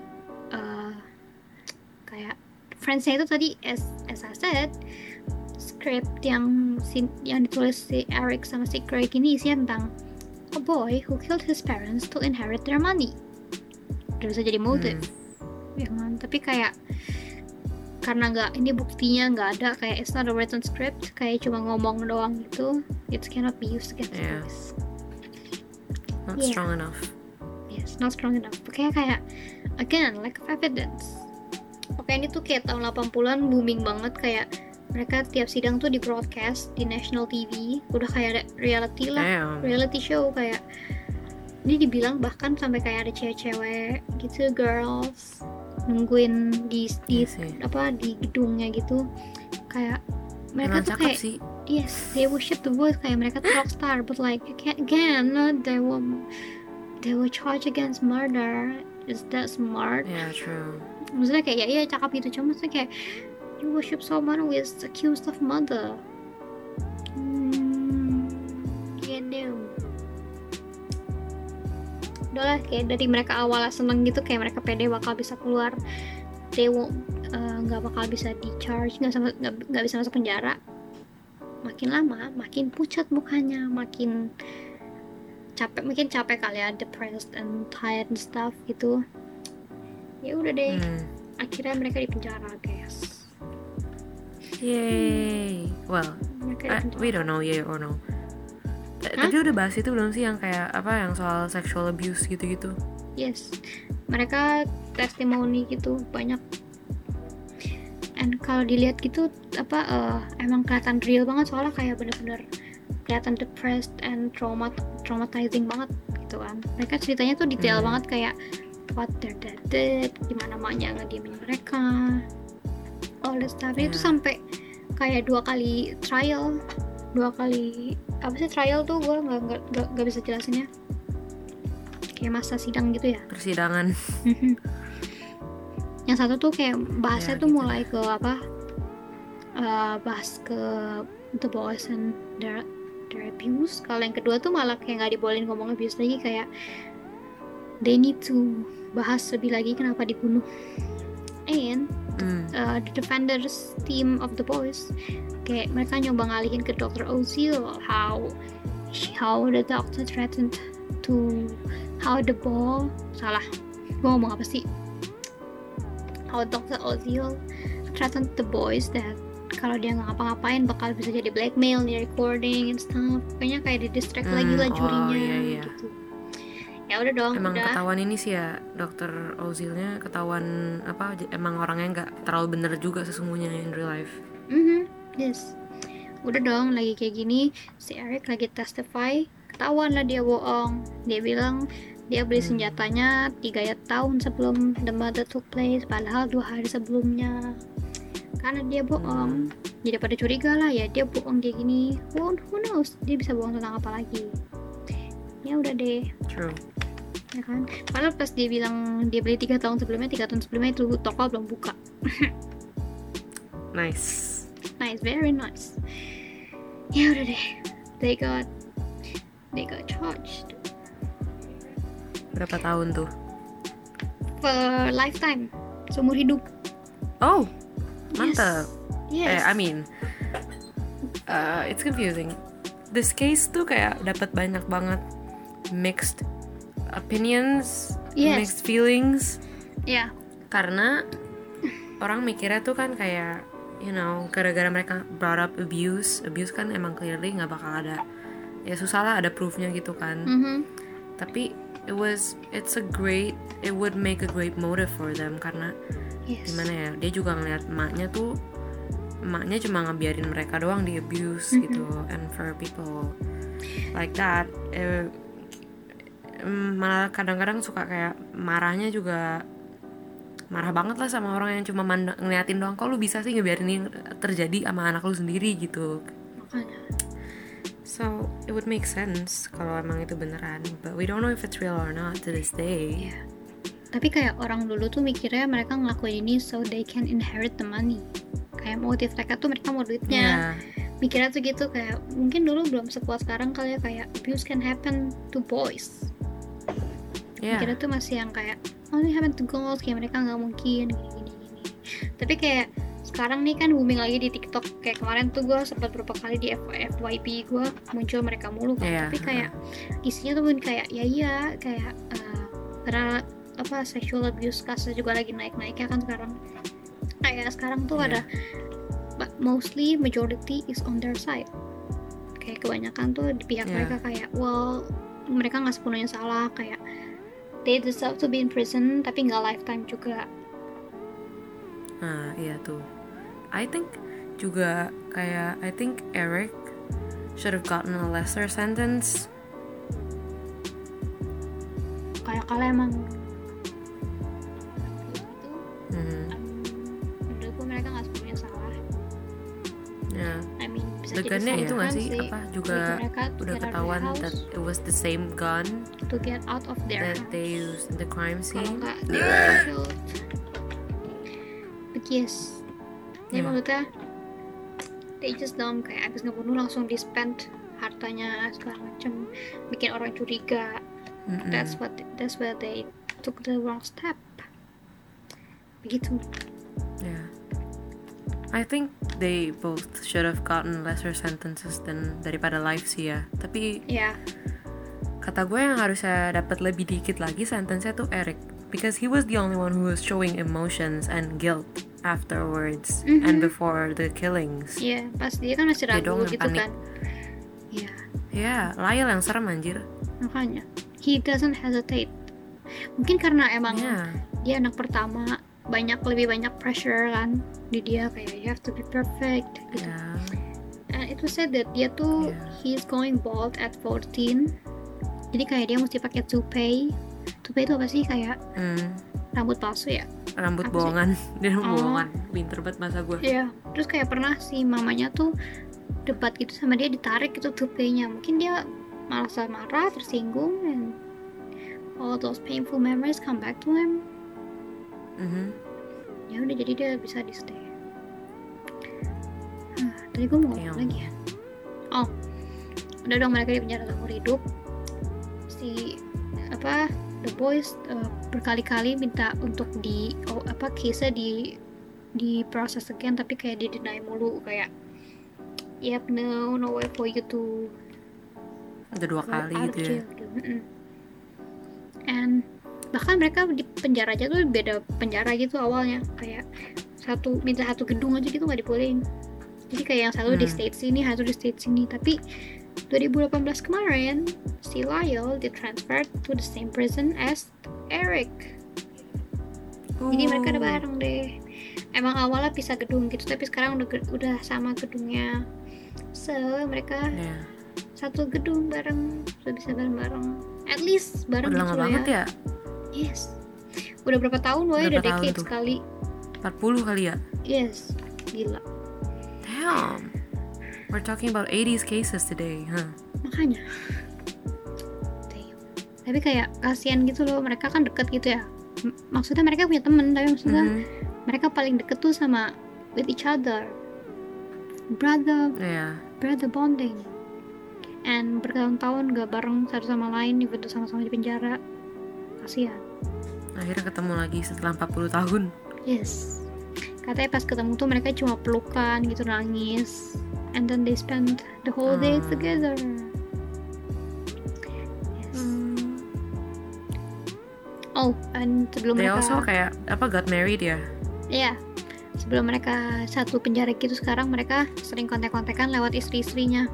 kayak friends-nya itu tadi, as I said, script yang ditulis si Eric sama si Craig ini isinya tentang a boy who killed his parents to inherit their money. Udah bisa jadi motive, ya kan? Tapi kayak karena ini buktinya nggak ada, kayak it's not a written script, kayak cuma ngomong doang gitu, it cannot be used against us. Not strong enough. Yes, not strong enough. Kayak again, lack of evidence. Pokoknya ini tuh kayak tahun 80-an booming banget, kayak mereka tiap sidang tuh di broadcast di national TV, udah kayak reality lah, reality show. Kayak ini dibilang bahkan sampai kayak ada cewek-cewek gitu, girls nungguin di gedungnya gitu, kayak mereka Emang tuh cakep kayak sih. yes, they worship the boys, kayak mereka tuh rockstar, but like again, they will charge against murder. Is that smart? Yeah, true. Maksudnya kayak ya iya cakep gitu, cuma maksudnya kayak you worship someone who is accused of murder. Yeah, no. Udahlah, kayak dari mereka awalnya seneng gitu, kayak mereka pede bakal bisa keluar, they won't nggak bakal bisa di charge, nggak bisa masuk penjara. Makin lama makin pucat mukanya, makin capek kali ya, depressed and tired and stuff gitu. Ya udah deh, akhirnya mereka di penjara, guys. Yay. Well, we don't know yeah or no. Tapi udah bahas itu belum sih yang kayak apa yang soal sexual abuse gitu-gitu? Yes, mereka testimoni gitu banyak. And kalau dilihat gitu emang kelihatan real banget, soalnya kayak bener-bener kelihatan depressed and traumatizing banget gitu kan. Mereka ceritanya tuh detail banget, kayak what their dad did, gimana maknya ngediemin mereka, all that stuff. Itu sampai kayak 2 kali trial. Apa sih trial tuh, gue nggak bisa jelasinnya, kayak masa sidang gitu ya, persidangan. Yang satu tuh kayak bahasnya tuh gitu. mulai ke bahas ke the boys and their abuse. Kalau yang kedua tuh malah kayak nggak dibolehin ngomong abuse lagi, kayak they need to bahas lebih lagi kenapa dibunuh. And the defenders team of the boys, kayak mereka nyoba ngalihin ke Dr. Ozil, how the doctor threatened to, how the ball, salah gue ngomong apa sih, how Dr. Ozil threatened the boys that kalau dia nggak ngapa-ngapain bakal bisa jadi blackmail di recording and stuff. Kayaknya kayak di distract lagi lah jurinya, gitu. Ya udah dong, emang udah. ketahuan ini sih ya, Dr. Ozilnya ketahuan apa, emang orangnya nggak terlalu bener juga sesungguhnya in real life. Yes. Udah dong, lagi kayak gini si Eric lagi testify, ketahuan lah dia bohong. Dia bilang dia beli senjatanya 3 tahun sebelum the murder took place, padahal 2 hari sebelumnya. Karena dia bohong, jadi pada curiga lah ya, dia bohong kayak gini. Who knows dia bisa bohong tentang apa lagi. Ya udah deh. True. Ya kan, padahal pas dia bilang dia beli 3 tahun sebelumnya itu toko belum buka. Nice, very nice. Ya udah deh, they got charged. Berapa tahun tuh? For lifetime, seumur hidup. Oh, mantap. Yes. I mean, it's confusing. This case tuh kayak dapat banyak banget mixed opinions, mixed feelings. Yeah. Karena orang mikirnya tuh kan kayak, you know, gara-gara mereka brought up abuse kan emang clearly nggak bakal ada, ya susah lah ada proofnya gitu kan. Tapi it would make a great motive for them, karena gimana ya, dia juga ngeliat emaknya cuma ngebiarin mereka doang di abuse gitu. And for people like that, malah kadang-kadang suka kayak marahnya juga marah banget lah sama orang yang cuma ngeliatin doang. Kok lu bisa sih ngebiarin ini terjadi sama anak lu sendiri gitu. So it would make sense kalau emang itu beneran, but we don't know if it's real or not to this day. Tapi kayak orang dulu tuh mikirnya mereka ngelakuin ini so they can inherit the money. Kayak motif mereka tuh mereka mau duitnya. Mikirnya tuh gitu, kayak mungkin dulu belum sekuat sekarang kali ya, kayak abuse can happen to boys. Mikirnya tuh masih yang kayak only happen to girls, kayak mereka nggak mungkin gini. Tapi kayak sekarang nih kan booming lagi di TikTok. Kayak kemarin tuh gue sempat beberapa kali di FYP gue muncul mereka mulu kan. Tapi kayak isinya tuh kayak kayak karena sexual abuse kasus juga lagi naik-naiknya kan sekarang. Kayak sekarang tuh ada mostly majority is on their side. Kayak kebanyakan tuh di pihak mereka, kayak mereka nggak sepenuhnya salah, kayak they deserve to be in prison, tapi nggak lifetime juga. Iya tuh. I think Eric should have gotten a lesser sentence. Kayak kalian emang menurut gue mereka nggak sepenuhnya salah. bisa jadi gunnya itu nggak selingkuhan sih? Apa juga Jadi mereka to udah get out of their ketahuan house, that it was the same gun to get out of their that house. they used in the crime Kalau scene? nggak they were killed. But yes, jadi maksudnya they just don't kayak abis ngebunuh langsung di-spend hartanya segala macem, bikin orang curiga. That's where they took the wrong step. Begitu. Yeah. I think they both should have gotten lesser sentences than daripada life sih ya. Tapi Ya, kata gue yang harusnya dapat lebih dikit lagi sentence-nya tuh Eric, because he was the only one who was showing emotions and guilt afterwards and before the killings. iya, pas dia kan masih Dia ragu doang yang gitu panik. kan. Iya, Ya, Lyle yang serem anjir. makanya he doesn't hesitate. Mungkin karena emang Ya. dia anak pertama, lebih banyak pressure kan di dia, kayak you have to be perfect gitu. Ya. And it was said that dia tuh he's going bald at 14. Jadi kayak dia mesti pakai toupee. Toupee itu apa sih? Kayak rambut palsu ya? Rambut Apa sih? bohongan. Dia rambut Oh. bohongan. Pinter banget masa gue. Iya. Terus kayak pernah si mamanya tuh debat gitu sama dia, ditarik gitu toupee-nya. Mungkin dia merasa marah, tersinggung, and all those painful memories come back to him. Ya udah, jadi dia bisa di stay. Tadi gue mau ngomong lagi ya. Oh, udah dong, mereka di penjara seumur hidup. Si the boys berkali-kali minta untuk case-nya di process again, tapi kayak di deny mulu, kayak yep, no way for you to Udah 2 kali out of gitu ya. jail gitu. And bahkan mereka di penjara aja tuh beda penjara gitu awalnya, kayak minta satu gedung aja gitu nggak dibolehin. Jadi kayak yang satu di state sini, satu di state sini. Tapi 2018 kemarin si Lyle ditransfer to the same prison as Eric. Jadi mereka udah bareng deh. Emang awalnya pisah gedung gitu, tapi sekarang udah sama gedungnya. So mereka satu gedung bareng, udah bisa bareng-bareng. At least bareng Udah gitu lama loh banget ya. Yes. Udah berapa tahun, woy? Udah decade sekali. 40 kali ya. Yes. Gila. Damn. We're talking about 80s cases today, huh? Makanya. Damn. Tapi kayak kasihan gitu loh, mereka kan deket gitu ya. Maksudnya mereka punya temen, tapi maksudnya mereka paling deket tuh sama with each other. Brother bonding. And bertahun-tahun gak bareng satu sama lain, even tuh sama-sama di penjara. Kasihan. Akhirnya ketemu lagi setelah 40 tahun. Yes. Katanya pas ketemu tuh mereka cuma pelukan gitu, nangis. And then they spend the whole day together. Yes. Oh, and sebelum They mereka also kayak got married ya? Iya. Sebelum mereka satu penjara gitu, sekarang mereka sering kontak-kontakan lewat istri-istrinya.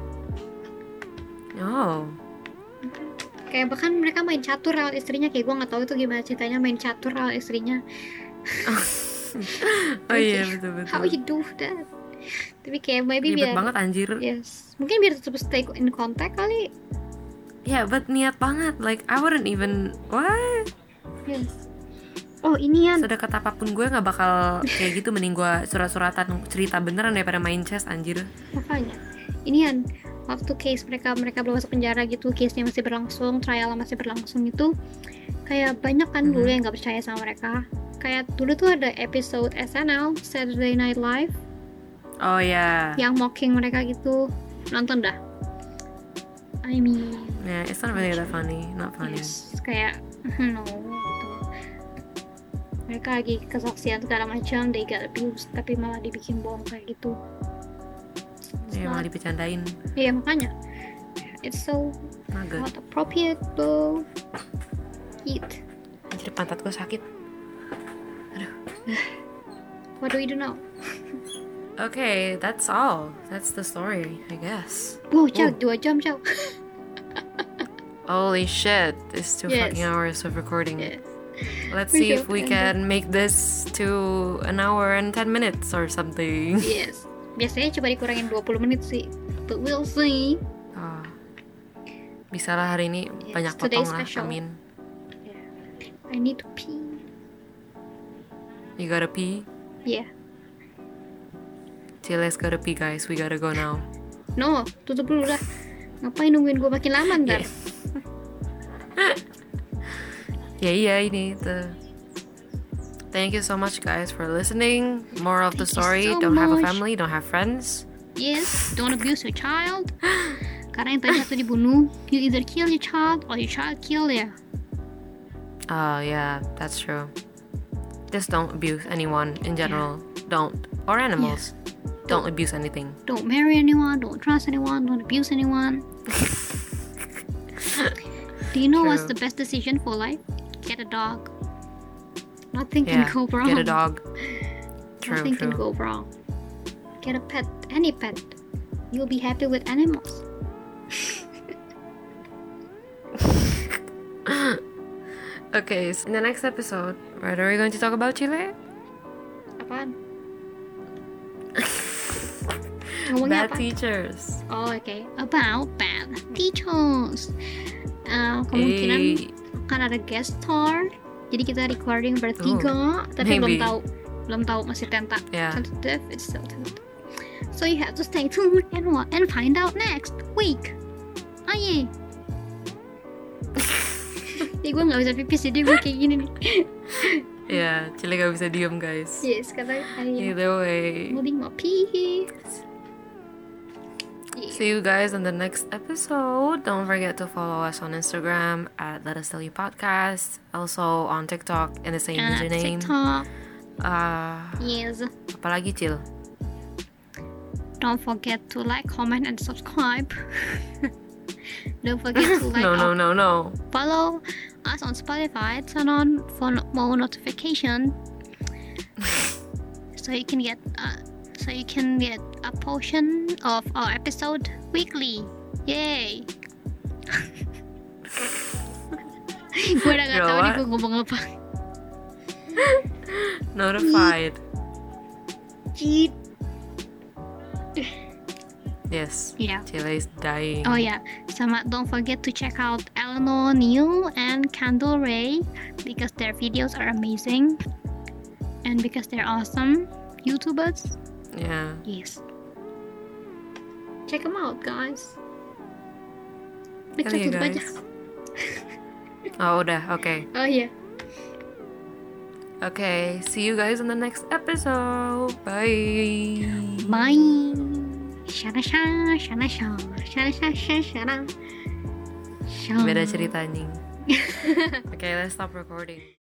Oh. Kayak bahkan mereka main catur lewat istrinya, kayak gue nggak tahu itu gimana ceritanya main catur lewat istrinya. Oh iya, betul-betul. How you do that? Tapi kayak maybe Ribet biar banget anjir. Yes. Mungkin biar tetap stay in contact kali. Yeah, but niat banget. Like I wouldn't even what? Yes. Oh, inian. Sedekat apapun gue nggak bakal kayak gitu. Mending gue surat-suratan cerita beneran daripada main chess anjir. Makanya. Inian. Waktu case mereka belum masuk penjara gitu, case-nya masih berlangsung, trial masih berlangsung itu, kayak banyak kan dulu yang nggak percaya sama mereka. Kayak dulu tuh ada episode SNL, Saturday Night Live. Oh ya. Yang mocking mereka gitu. Nonton dah. I mean, Yeah, it's not really that funny, not funny. yes, kayak no gitu. Mereka lagi kesaksian segala macam, they got abused, tapi malah dibikin bohong kayak gitu. Ya malah dipecandain. Iya, makanya it's so Naga. not appropriate to eat. Anjir, pantat gue sakit. What do we do now? Okay, that's all. That's the story, I guess. Wow, Chow, 2 jam, Chow. Holy shit, it's 2 Yes. fucking hours of recording. Yes. Let's We see if should we end can make this to 1 hour and 10 minutes or something. Yes. Biasanya coba dikurangin 20 menit sih. But we'll see. Oh. Bisa lah hari ini Yes, banyak today's potong lah, special. amin. I need to pee. You gotta pee? Yeah. Chiles gotta pee, guys. We gotta go now. No, tutup dulu dah. Ngapain nungguin gue makin lama ntar? Iya ini tuh. Thank you so much guys for listening. Moral of the Thank you story, so don't have a much. family, don't have friends. Yes, don't abuse your child. Karena yang tadi satu dibunuh, you either kill your child or your child kill ya. Yeah, that's true. Just don't abuse anyone in general. Don't. Or animals. Don't abuse anything. Don't marry anyone, don't trust anyone, don't abuse anyone. Do you know what's the True. best decision for life? Get a dog. Nothing Yeah, can go wrong. get a dog. True, Nothing can true. go wrong. Get a pet, any pet. You'll be happy with animals. Okay, so in the next episode, what are we going to talk about, Chile? Apaan? Ngomongnya Bad apa? teachers. Oh, okay. About bad teachers. Kemungkinan Hey. akan ada guest star. Jadi kita recording bertiga, tapi maybe. belum tahu masih Yeah. tentative. It's still tentative. So you have to stay tuned and find out next week. Aye. Gue nggak bisa pipis jadi gue kayak gini nih. Yeah, Chile gak bisa diem guys. Yes, kata Aye. Either way. Holding my pee. See you guys in the next episode. Don't forget to follow us on Instagram at Let Us Tell You Podcast. Also on TikTok in the same username. TikTok. Uh, Yes. apalagi Cil? Don't forget to like, comment, and subscribe. Don't forget to like, No. follow us on Spotify. Turn on for more notification, so you can get a portion of our episode weekly. Yay! Gue udah gak Bro, tahu nih what? gue ngomong apa. Notified. Cheat. Yes. Yeah. Chile is dying. Oh yeah, sama don't forget to check out Eleanor Neil and Candle Ray because their videos are amazing and because they're awesome YouTubers. Yeah. Yes. Check them out, guys. Hell yeah, Tutup aja. guys. Oh, udah. Okay. Oh iya. Okay. See you guys in the next episode. Bye. Bye. Shana shana shana shana shana shana shana shana. Beda cerita anjing. Okay, let's stop recording.